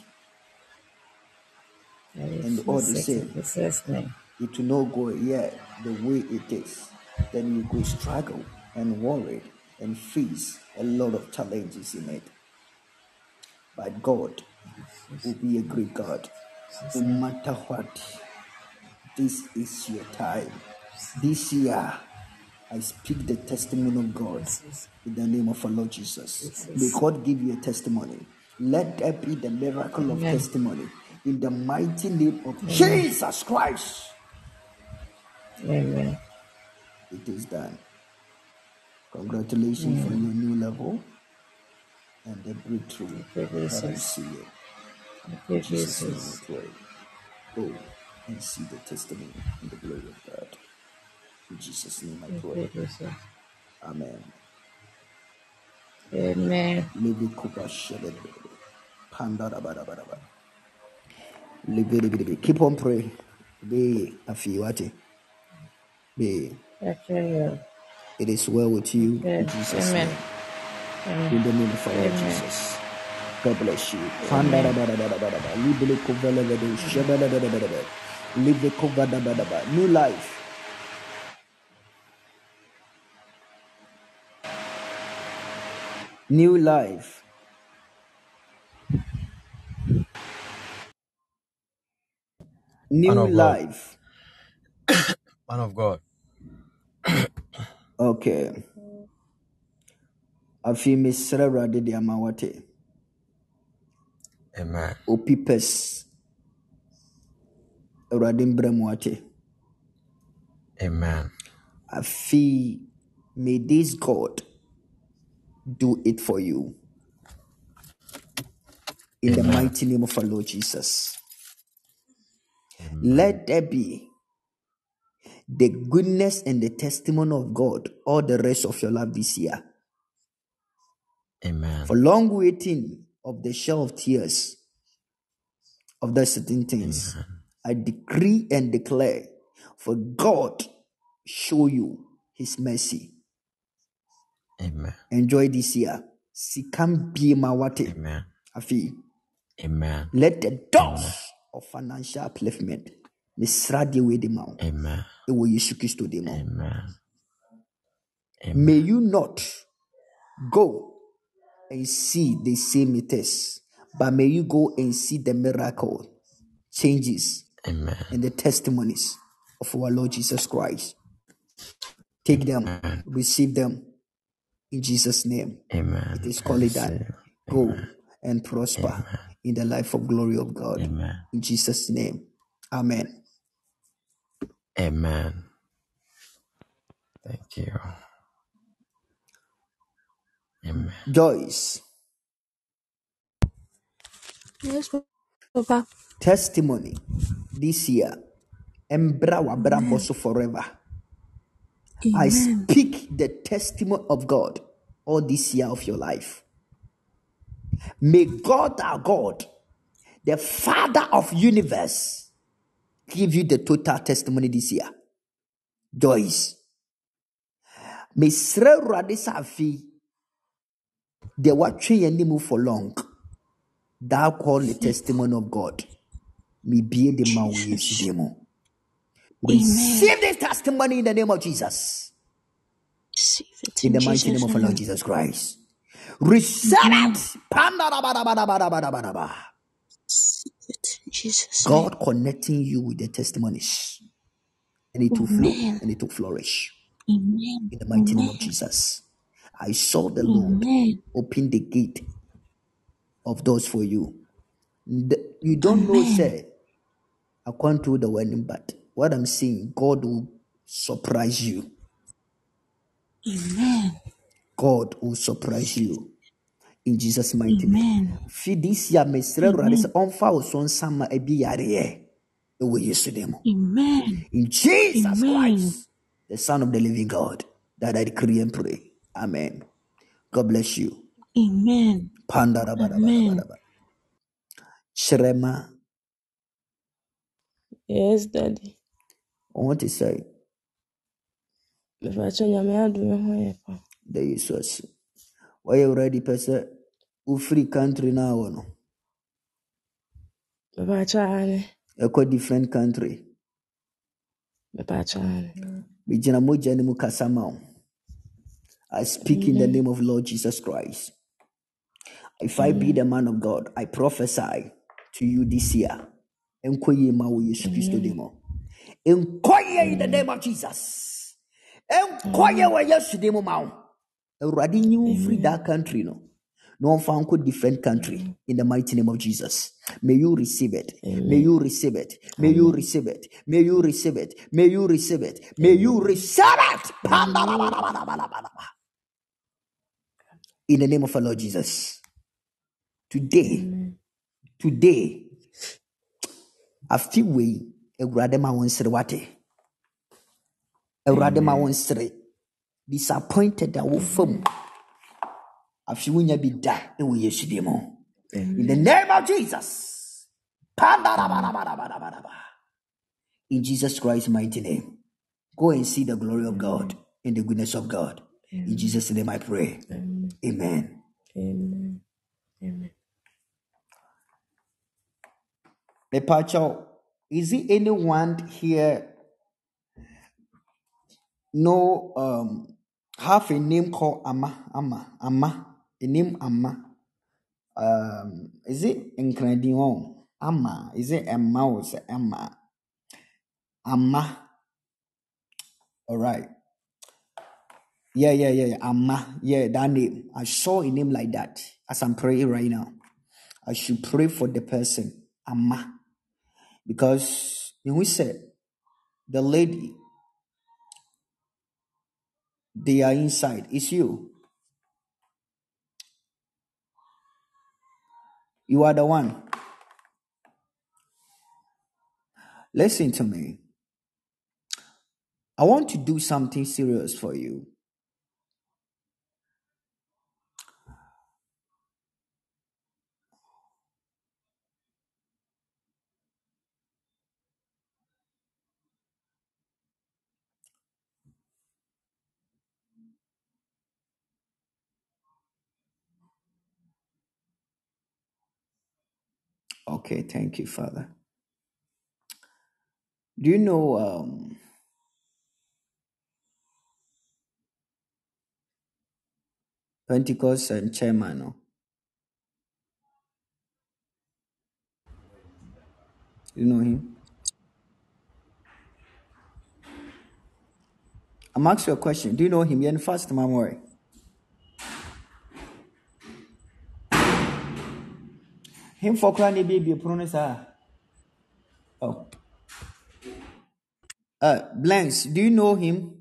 And all the same, it will not go the way it is. Then you go struggle and worry and face a lot of challenges in it. But God will be a great God. No matter what, this is your time. This year, I speak the testimony of God in the name of our Lord Jesus. May God give you a testimony. Let there be the miracle of testimony in the mighty name of Jesus Christ. Amen. It is done. Congratulations for your new level and the breakthrough that I see it. In Jesus' name we pray. Go and see the testimony and the glory of God. In Jesus' name I pray. Amen. Amen. Keep on praying. Be afiwati. Be. It is well with you in Jesus' name. In the name of our Lord Jesus. God bless you. New life. New life. New Man of God. life. Man of God. Okay. Afi Mr. Awurade de ama wate. Amen. Opipes. Awurade mbrɛ mu wate. Amen. Afi, may this God do it for you. In the Amen. mighty name of our Lord Jesus. Amen. Let there be the goodness and the testimony of God all the rest of your life this year. Amen. For long waiting of the shell of tears of the certain things, Amen. I decree and declare for God show you his mercy. Amen. Enjoy this year. Sikam be mawate. Amen. Afi. Amen. Let the Amen. doors of financial upliftment misradi with the mouth. Amen. It will Yesu Christo the mouth. Amen. May Amen. you not go and see the same test, but may you go and see the miracle, changes, Amen. and the testimonies of our Lord Jesus Christ. Take them, Amen. receive them in Jesus' name. Amen. It is I called that. receive. Go Amen. and prosper Amen. in the life of glory of God. Amen. In Jesus' name. Amen. Amen. Thank you. Amen. Joyce, Yes, Papa. testimony this year. Embra wabra boso forever. I Amen. speak the testimony of God all this year of your life. May God, our God, the Father of universe, give you the total testimony this year. Joyce. May Sre Radisafi, the watching any move for long. Thou call the testimony of God. Me be the man we use demo. Receive this testimony in the name of Jesus. Receive it In in the mighty name Jesus' of our Lord name. Jesus Christ. Receive it. Pandadabadabadabadabadabada. Receive it in Jesus' name. God connecting you with the testimonies. And it will flow Amen. and it will flourish. Amen. In the mighty name of Amen. Jesus. I saw the Lord Amen. open the gate of doors for you. You don't know, Amen. say, I can't do the wedding, but what I'm saying, God will surprise you. Amen. God will surprise you. In Jesus' mighty name. Amen. Feed this year, Mr. Amen. On fire, son, summer, a be yare. We used to them. Amen. In Jesus Amen. Christ, the Son of the living God, that I decree and pray. Amen. God bless you. Amen. Amen. Shrema, Yes, Daddy. I want to say, Mepacho nyame adome ho yɛ pa. there is us. Why you already person who free country now? No, Mepacho ane. a quite different country. Mepacho ane. Bijina moja ni mukasama. I speak in the name of Lord Jesus Christ. If I be the man of God, I prophesy to you this year. Enkoye ma wo Yesu Kristo demo. Enkoye in the name of Jesus. Enkoye wa Yesu demo ma wo. Awurade nyi free that country no. No one could different country in the mighty name of Jesus. May you receive it. May you receive it. May you receive it. May you receive it. May you receive it. May you receive it. In the name of our Lord Jesus. Today, I feel we Awurade ma won sere wate. Awurade ma won sere. Disappointed that wo fam. I feel we nya bi da e wo Yesu demo. In the name of Jesus. In Jesus Christ's mighty name. Go and see the glory of God and the goodness of God. In Jesus' name I pray. Amen. Amen. Amen. Mepacho, is there anyone here have a name called Amma? name Amma. Is it Incredion? Amma. Is it Emma or is it Emma? Amma. All right. Yeah. Amma. Yeah, that name. I saw a name like that as I'm praying right now. I should pray for the person, Amma. Because when we said the lady, they are inside. It's you. You are the one. Listen to me. I want to do something serious for you. Okay, thank you, Father. Do you know Pentecost and chairman? No? You know him? I'm asking you a question. Do you know him? You're in first memory. Him for crying baby pronounce. Oh. Blanks, do you know him?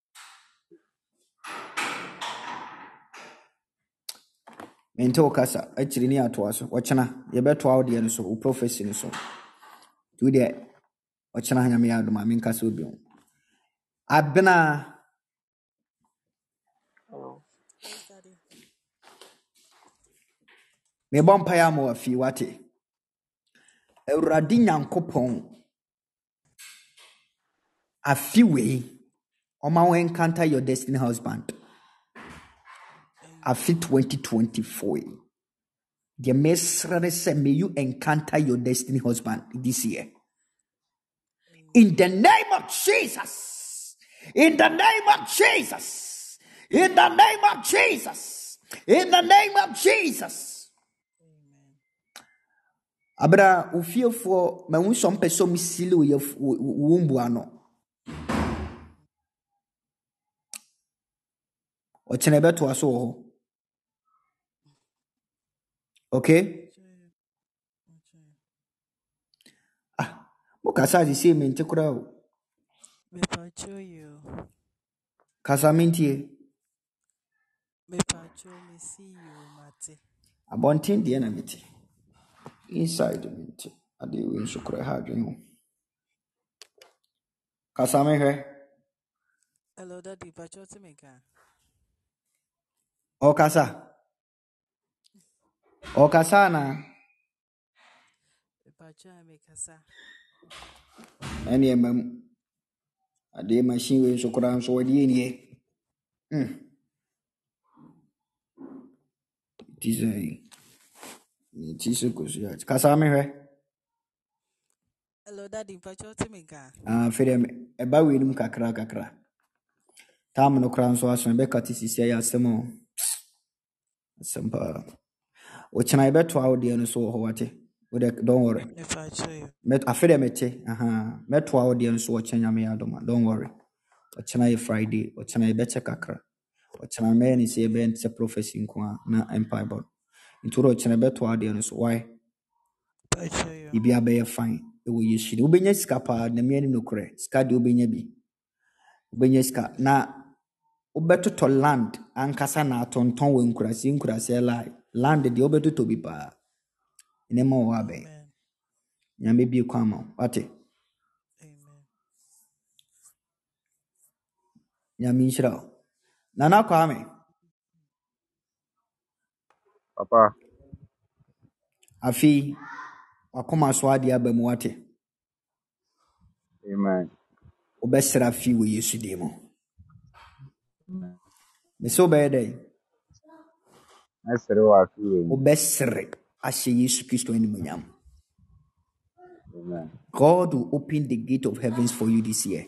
Mento kasa actually ni atwa so wochana ye beto out there so o prophecy so do there wochana hanya me adoma me nkasa obi ho abena me bompa ya mo afi wate Awurade Nyankopon afi we oma we encounter your destiny husband afi 2024 the mesrane say may you encounter your destiny husband this year in the name of Jesus. In the name of Jesus. In the name of Jesus. In the name of Jesus. Abra ufio for ma wu some person misili wo wumbu ano. O chenebe to aso ho. Okay? Ah, mo kasa di se me ntekura o. Me pacho you. Kasa mintie. Me pacho me see you mate. Abontin de na meti. Inside meti. Ade we nsukura ha adwen ho. Kasa me hwe. Hello daddy pacho ti me ka. O kasa na. Me pacho me kasa. Any a day machine we so kura so wadi nie. Tise ko so ya. Kasa me hwe. Hello daddy pacho ti me ka. Fere me e ba we nim kakra. Tam no kra so aso be katisisi ya asemo. Asempa. O china be to audio no so ho wate. Don't worry. Me pacho you. Met afere mete. Met to audio no so chanya me adoma. Don't worry. O china e Friday, o china e be che kakra. O china me ni se be nse prophecy nko na empire board. Nturo china be to audio no so why? Pacho you. Ibi abe fine. E wo yeshiri. Ubenya sika pa na me ni no kre. Sika de ubenya bi. Ubenya sika na Obeto land ankasa na tonton we nkurase land de obeto to bi pa enema wo abe nyame bi kwama wate Amen. nyame nshira nana kwame Papa afi wakoma so ade abamu wate amen obesra fi we Yesu demo me so be dey Mesere wa fi we obesre ashe Yesu Kristo animunyam. amen God will open the gate of heavens for you this year.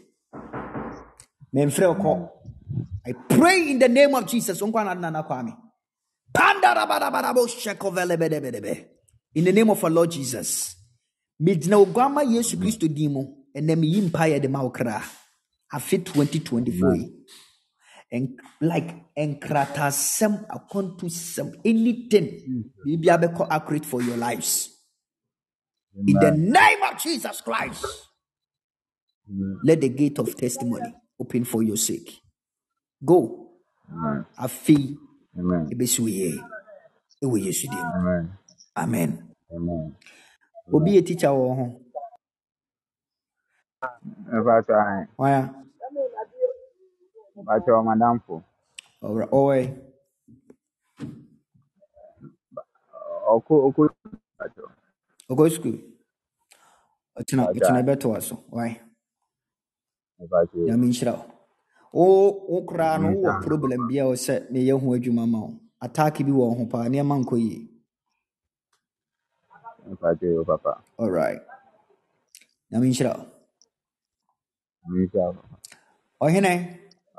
I pray in the name of Jesus. Panda In the name of our Lord Jesus. Midna Ogama Yesu Christo Dimo and then me empire the Maokra. I fit 2024. And like enkrata sem akontu sem anything be able accurate for your lives. In the name of Jesus Christ. Let the gate of testimony open for your sake. Go. Afi. Amen. Amen. Amen. Obi a teacher or home. Why? But your madam for. Alright. Go school. It's not better also. Why? Yamishra. Oh, cry no problem. Be our set me young who you mamma. Attack you on Hopa near Manco ye. Papa. All right. Yamishra. Oh, Hene.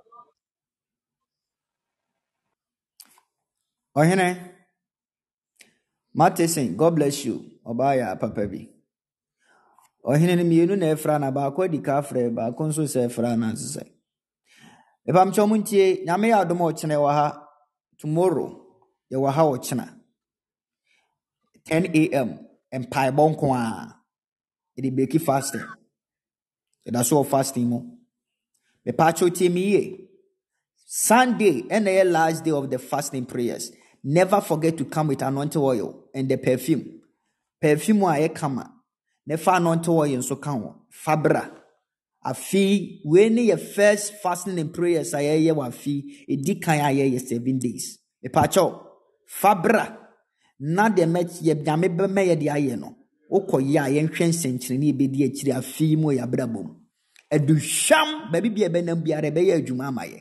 Oh, Hene. Mattison, God bless you. Obaya, Papa B. Oh, Hene, me, no, Frana, Bako di Cafre, Baconso, say, Frana, say. If I'm Chomuntie, Yame Adomo Chanewaha, tomorrow, Yawaha or China, 10 a.m. and Pai Bonqua. It be fasting. That's all fasting. Me pacho temi Sunday and the last day of the fasting prayers. Never forget to come with anointing oil and the perfume. Perfume wa e kama. Never anointing oil so kan Fabra. Afi when your first fasting and prayers aye wa fi e di kan aye 7 days. Me pacho Fabra na de met ye dame be me ye di aye no. Okoya yen hwen senkyere ne be di akiri afi mu ya brabom. Edusham baby bia be nam biare be ya adwuma amaye.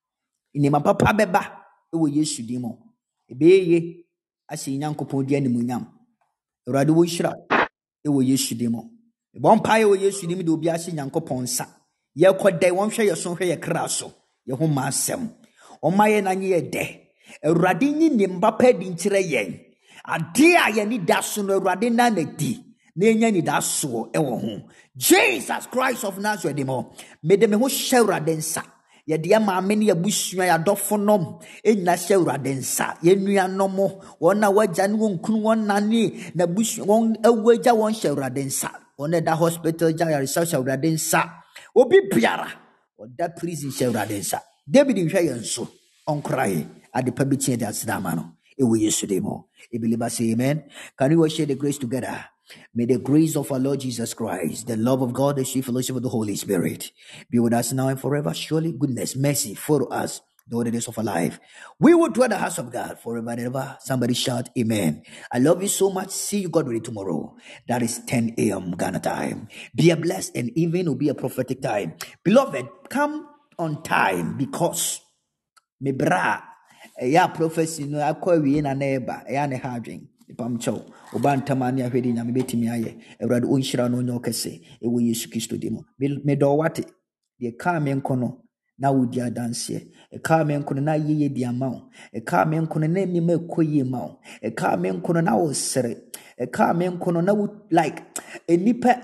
Inema papa beba e wo Yesu dimo. Ebeye ase Nyankopon di animunyam. Awurade wo hira e wo Yesu dimo. E bon pae wo Yesu dimo de obi ase Nyankopon sa. Ye kodai won hwe ye so hwe ye kra so. Ye ho ma asem. O maye na nye de. Awurade nyi ne mbapa di nkire yen. Ade a ye ni da so no Awurade na na di. Na enya ni da so e wo ho. Jesus Christ of Nazareth demo. Me de me ho hye densa. Ye de ma me ne abusua ya dofonom enna hye densa. Ye nuanom wona waja ne wonkunu wona ne na busu won awaja won hye densa. Wona da hospital ja ya research densa. Obi biara oda prison hye densa. David hwe ye nso on cry at the public chair that's damano. E we yesterday mo. E believe say amen. Can we share the grace together? May the grace of our Lord Jesus Christ, the love of God, the sweet fellowship of the Holy Spirit be with us now and forever. Surely goodness, mercy follow us all the days of our life. We will dwell in the house of God forever and ever. Somebody shout amen. I love you so much. See you God ready tomorrow. That is 10 a.m. Ghana time. Be a blessed and even will be a prophetic time. Beloved, come on time because me bra ya prophecy no akwa wie na neighbor ya ne hadwen ipamcho obantamani ahwedi nyame betimi aye ewrade onhyira no onyo kese ewo Yesu Kristo dimo me do wate de ka me nkono na wodi adanse e ka me nkono na yeye di amawo e ka me nkono na mi ma koyi mawo e ka me nkono na wo sere e ka me nkono na wo like enipa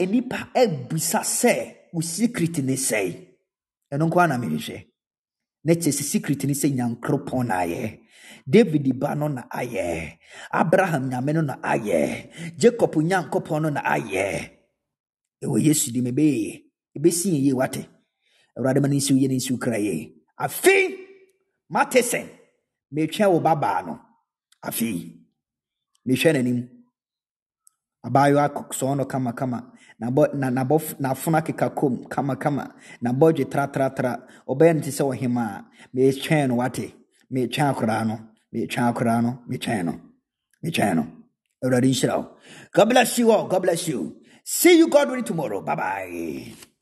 ebusa se wo secret ne sei eno kwa na me hwehwe Nete secret ni se Nyankopon na aye. David ba no na aye. Abraham nyame no na aye. Jacob Nyankopon no na aye. Ewo Yesu di mebe. Ebesi ye wate. Awurade mani nsi ye nsi kraye. Afi Matesen. Me twa wo baba no. Afi. Me hwe nanim. Abayo akokso no kama na funa keka kom kama na bodwe tra obey nti se ohima me twen no wate me twa akora no me twen no Eradi shira. God bless you all. God bless you. See you God willing tomorrow. Bye bye.